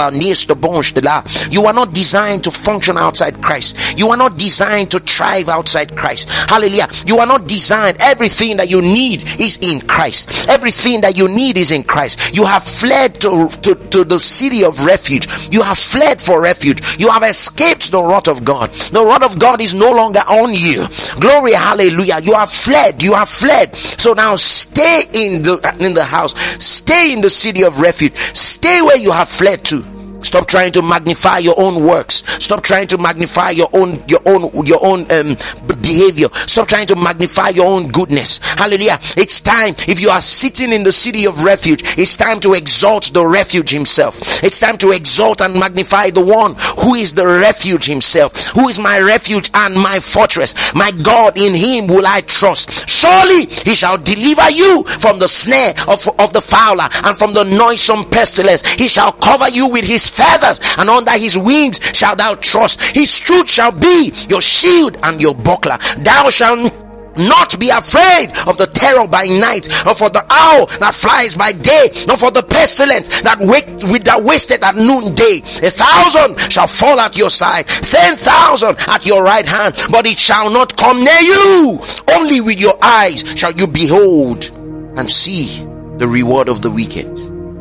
you are not designed to function outside Christ. You are not designed to thrive outside Christ. Hallelujah. You are not designed. Everything that you need is in Christ. Everything that you need is in Christ. You have fled to, to, to the city of refuge. You have fled for refuge. You have escaped the wrath of God. The wrath of God is no longer on you. Glory, hallelujah. You have fled. You have fled. So now stay in the in the house. Stay in the city of refuge. Stay where you have fled to. Stop trying to magnify your own works. Stop trying to magnify your own your own your own um, behavior. Stop trying to magnify your own goodness. Hallelujah. It's time, if you are sitting in the city of refuge, it's time to exalt the refuge himself. It's time to exalt and magnify the one who is the refuge himself, who is my refuge and my fortress. My God, in him will I trust. Surely he shall deliver you from the snare of, of the fowler and from the noisome pestilence. He shall cover you with his feathers, and under his wings shalt thou trust. His truth shall be your shield and your buckler. Thou shalt not be afraid of the terror by night, nor for the owl that flies by day, nor for the pestilence that wait with that wasted at noonday. A thousand shall fall at your side, ten thousand at your right hand, but it shall not come near you. Only with your eyes shall you behold and see the reward of the wicked.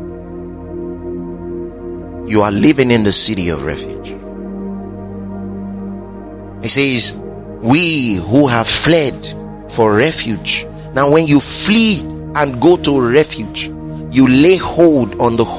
You are living in the city of refuge. It says, we who have fled for refuge. Now when you flee and go to refuge, you lay hold on the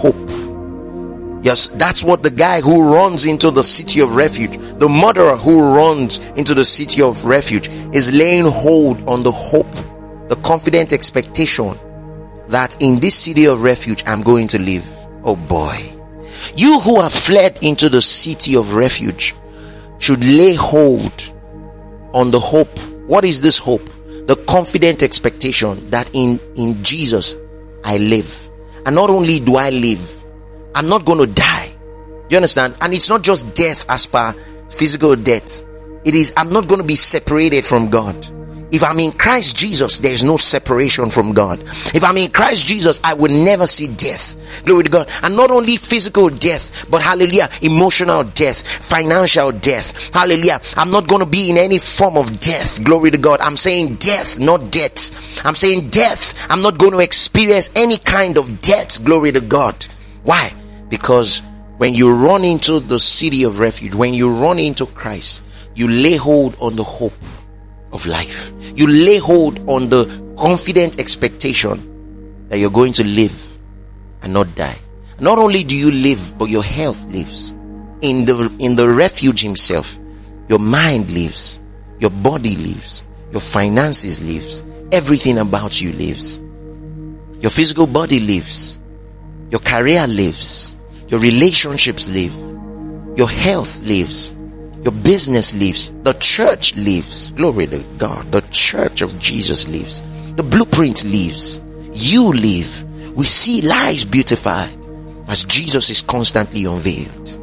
hope. Yes, that's what the guy who runs into the city of refuge, the murderer who runs into the city of refuge, is laying hold on the hope, the confident expectation that in this city of refuge I'm going to live. Oh boy. You who have fled into the city of refuge should lay hold on the hope. What is this hope? The confident expectation that in, in Jesus I live. And not only do I live, I'm not going to die. Do you understand? And it's not just death as per physical death. It is, I'm not going to be separated from God. If I'm in Christ Jesus, there is no separation from God. If I'm in Christ Jesus, I will never see death. Glory to God. And not only physical death, but hallelujah, emotional death, financial death. Hallelujah. I'm not going to be in any form of death. Glory to God. I'm saying death, not death. I'm saying death. I'm not going to experience any kind of death. Glory to God. Why? Because when you run into the city of refuge, when you run into Christ, you lay hold on the hope of life. You lay hold on the confident expectation that you're going to live and not die. Not only do you live, but your health lives. In the in the refuge himself, your mind lives, your body lives, your finances lives, everything about you lives. Your physical body lives, your career lives, your relationships live, your health lives, your business lives, the church lives. Glory to God. The church of Jesus lives. The blueprint lives. You live. We see lives beautified as Jesus is constantly unveiled.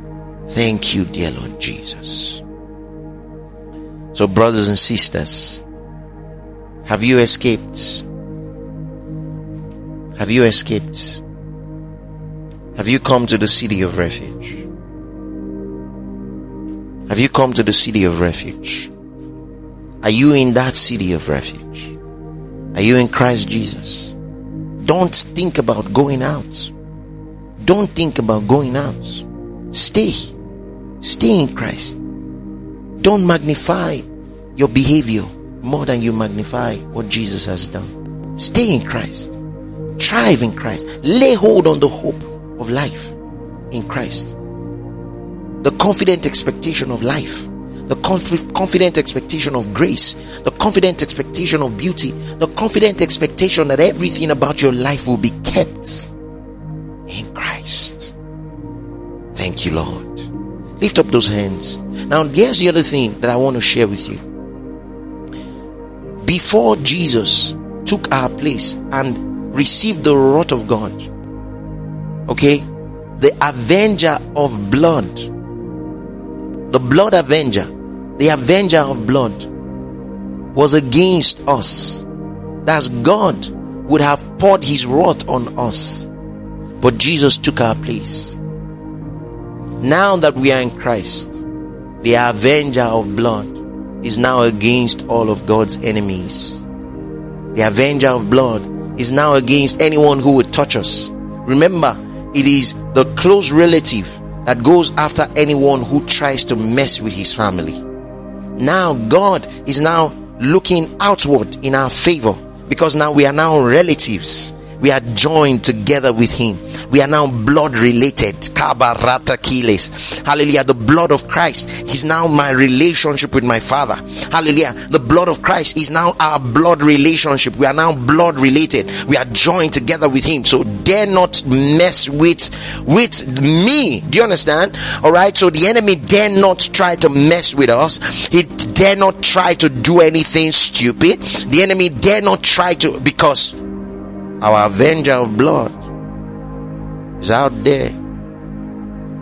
Thank you, dear Lord Jesus. So, brothers and sisters, have you escaped? Have you escaped? Have you come to the city of refuge? Have you come to the city of refuge? Are you in that city of refuge? Are you in Christ Jesus? Don't think about going out. Don't think about going out. Stay. Stay in Christ. Don't magnify your behavior more than you magnify what Jesus has done. Stay in Christ. Thrive in Christ. Lay hold on the hope of life in Christ. The confident expectation of life, the conf- confident expectation of grace, the confident expectation of beauty, the confident expectation that everything about your life will be kept in Christ. Thank you, Lord. Lift up those hands. Now, here's the other thing that I want to share with you. Before Jesus took our place and received the wrath of God, okay, the avenger of blood, the blood avenger, the avenger of blood was against us. That's God would have poured his wrath on us. But Jesus took our place. Now that we are in Christ, the avenger of blood is now against all of God's enemies. The avenger of blood is now against anyone who would touch us. Remember, it is the close relative that goes after anyone who tries to mess with his family. Now God is now looking outward in our favor, because now we are now relatives. We are joined together with him. We are now blood related. Kabarata Kiles. Hallelujah. The blood of Christ is now my relationship with my Father. Hallelujah. The blood of Christ is now our blood relationship. We are now blood related. We are joined together with him. So dare not mess with with me. Do you understand? Alright. So the enemy dare not try to mess with us. He dare not try to do anything stupid. The enemy dare not try to, because our avenger of blood is out there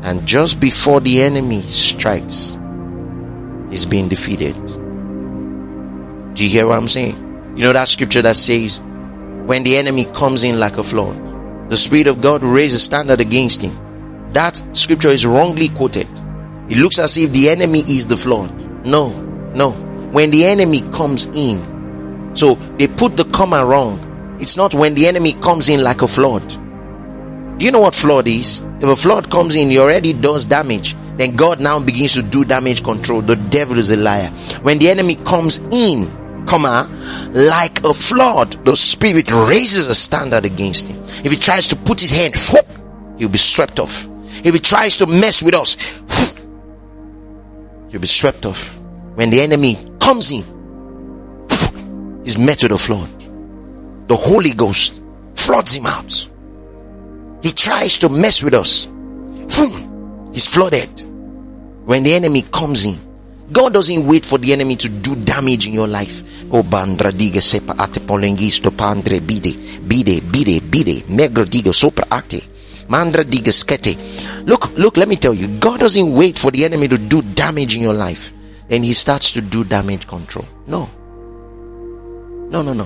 And just before the enemy strikes, he's being defeated. Do you hear what I'm saying? You know that scripture that says, when the enemy comes in like a flood, the Spirit of God will raise a standard against him. That scripture is wrongly quoted. It looks as if the enemy is the flood. No, no. When the enemy comes in, so they put the comma wrong. It's not when the enemy comes in like a flood. Do you know what flood is? If a flood comes in, he already does damage. Then God now begins to do damage control. The devil is a liar. When the enemy comes in, comma, like a flood, the Spirit raises a standard against him. If he tries to put his hand, he'll be swept off. If he tries to mess with us, he'll be swept off. When the enemy comes in, he's met with a flood. The Holy Ghost floods him out. He tries to mess with us. He's flooded. When the enemy comes in, God doesn't wait for the enemy to do damage in your life. Oh, bandra diga sepa ate polengisto pandre bide bide bide bide negro diga sopra ate mandra diga skete. Look, look. Let me tell you, God doesn't wait for the enemy to do damage in your life, then He starts to do damage control. No, no, no, no.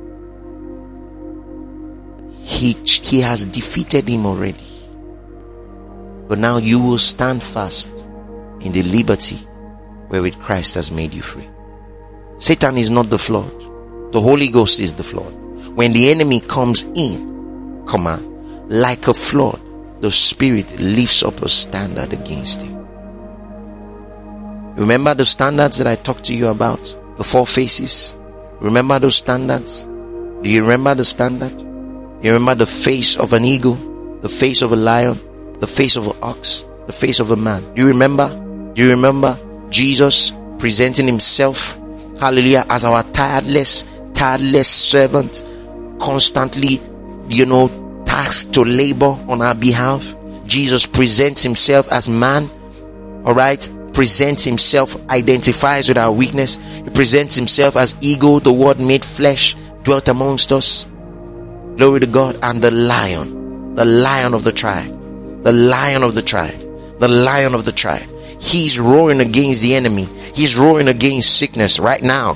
He, he has defeated him already. But now you will stand fast in the liberty wherewith Christ has made you free. Satan is not the flood. The Holy Ghost is the flood. When the enemy comes in, come on, like a flood, the Spirit lifts up a standard against him. Remember the standards that I talked to you about? The four faces? Remember those standards? Do you remember the standard? You remember the face of an eagle, the face of a lion, the face of an ox, the face of a man. Do you remember? Do you remember Jesus presenting himself, hallelujah, as our tireless, tireless servant, constantly, you know, tasked to labor on our behalf? Jesus presents himself as man, all right? Presents himself, identifies with our weakness. He presents himself as eagle, the word made flesh, dwelt amongst us. Glory to God. And the lion, the lion of the tribe, the lion of the tribe, the lion of the tribe. He's roaring against the enemy. He's roaring against sickness right now.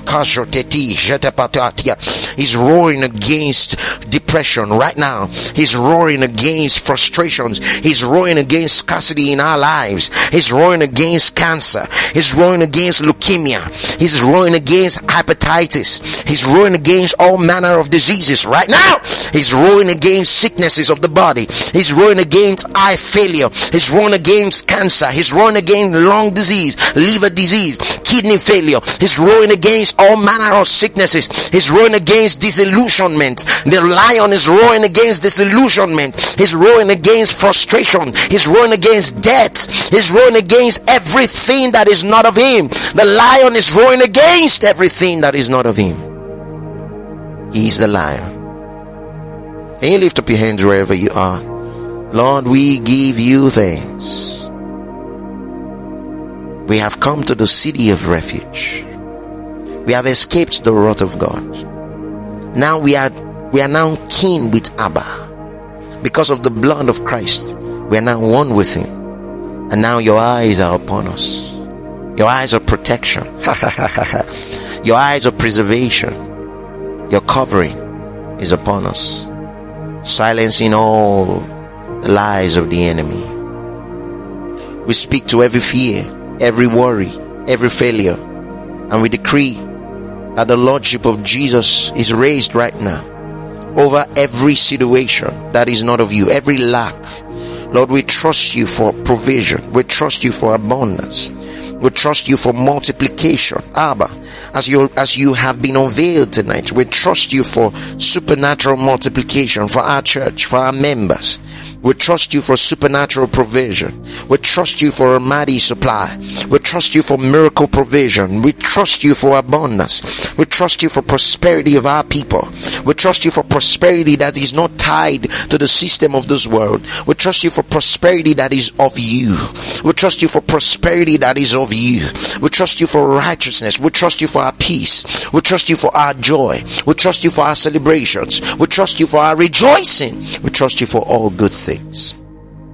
He's roaring against depression right now. He's roaring against frustrations. He's roaring against scarcity in our lives. He's roaring against cancer. He's roaring against leukemia. He's roaring against hepatitis. He's roaring against all manner of diseases right now. He's roaring against sicknesses of the body. He's roaring against eye failure. He's roaring against cancer. He's roaring against lung disease, liver disease, kidney failure. He's roaring against all manner of sicknesses. He's roaring against disillusionment. The lion is roaring against disillusionment. He's roaring against frustration. He's roaring against death. He's roaring against everything that is not of him. The lion is roaring against everything that is not of him. He's the lion. Can you lift up your hands wherever you are? Lord, we give you thanks. We have come to the city of refuge. We have escaped the wrath of God. Now we are we are now kin with Abba. Because of the blood of Christ, we are now one with him. And now your eyes are upon us. Your eyes of protection. Your eyes of preservation. Your covering is upon us, silencing all the lies of the enemy. We speak to every fear, every worry, every failure, and we decree that the Lordship of Jesus is raised right now over every situation that is not of you, every lack. Lord, we trust you for provision. We trust you for abundance. We trust you for multiplication. Abba, as you as you have been unveiled tonight, we trust you for supernatural multiplication for our church, for our members. We trust you for supernatural provision. We trust you for a mighty supply. We trust you for miracle provision. We trust you for abundance. We trust you for prosperity of our people. We trust you for prosperity that is not tied to the system of this world. We trust you for prosperity that is of you. We trust you for prosperity that is of you. We trust you for righteousness. We trust you for our peace. We trust you for our joy. We trust you for our celebrations. We trust you for our rejoicing. We trust you for all good things.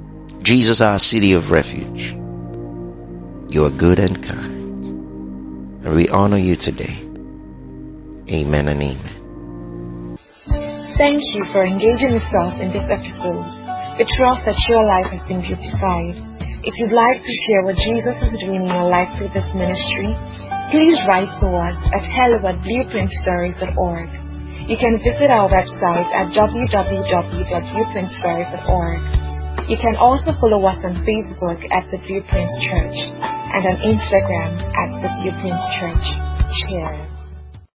Jesus, our city of refuge, you are good and kind, and we honor you today. Amen and amen. Thank you for engaging yourself in this episode. We trust that your life has been beautified. If you'd like to share what Jesus is doing in your life through this ministry, please write to us at hello at blueprint stories dot org. You can visit our website at w w w dot blueprint stories dot org. You can also follow us on Facebook at The Blueprint Church and on Instagram at The Blueprint Church. Cheers.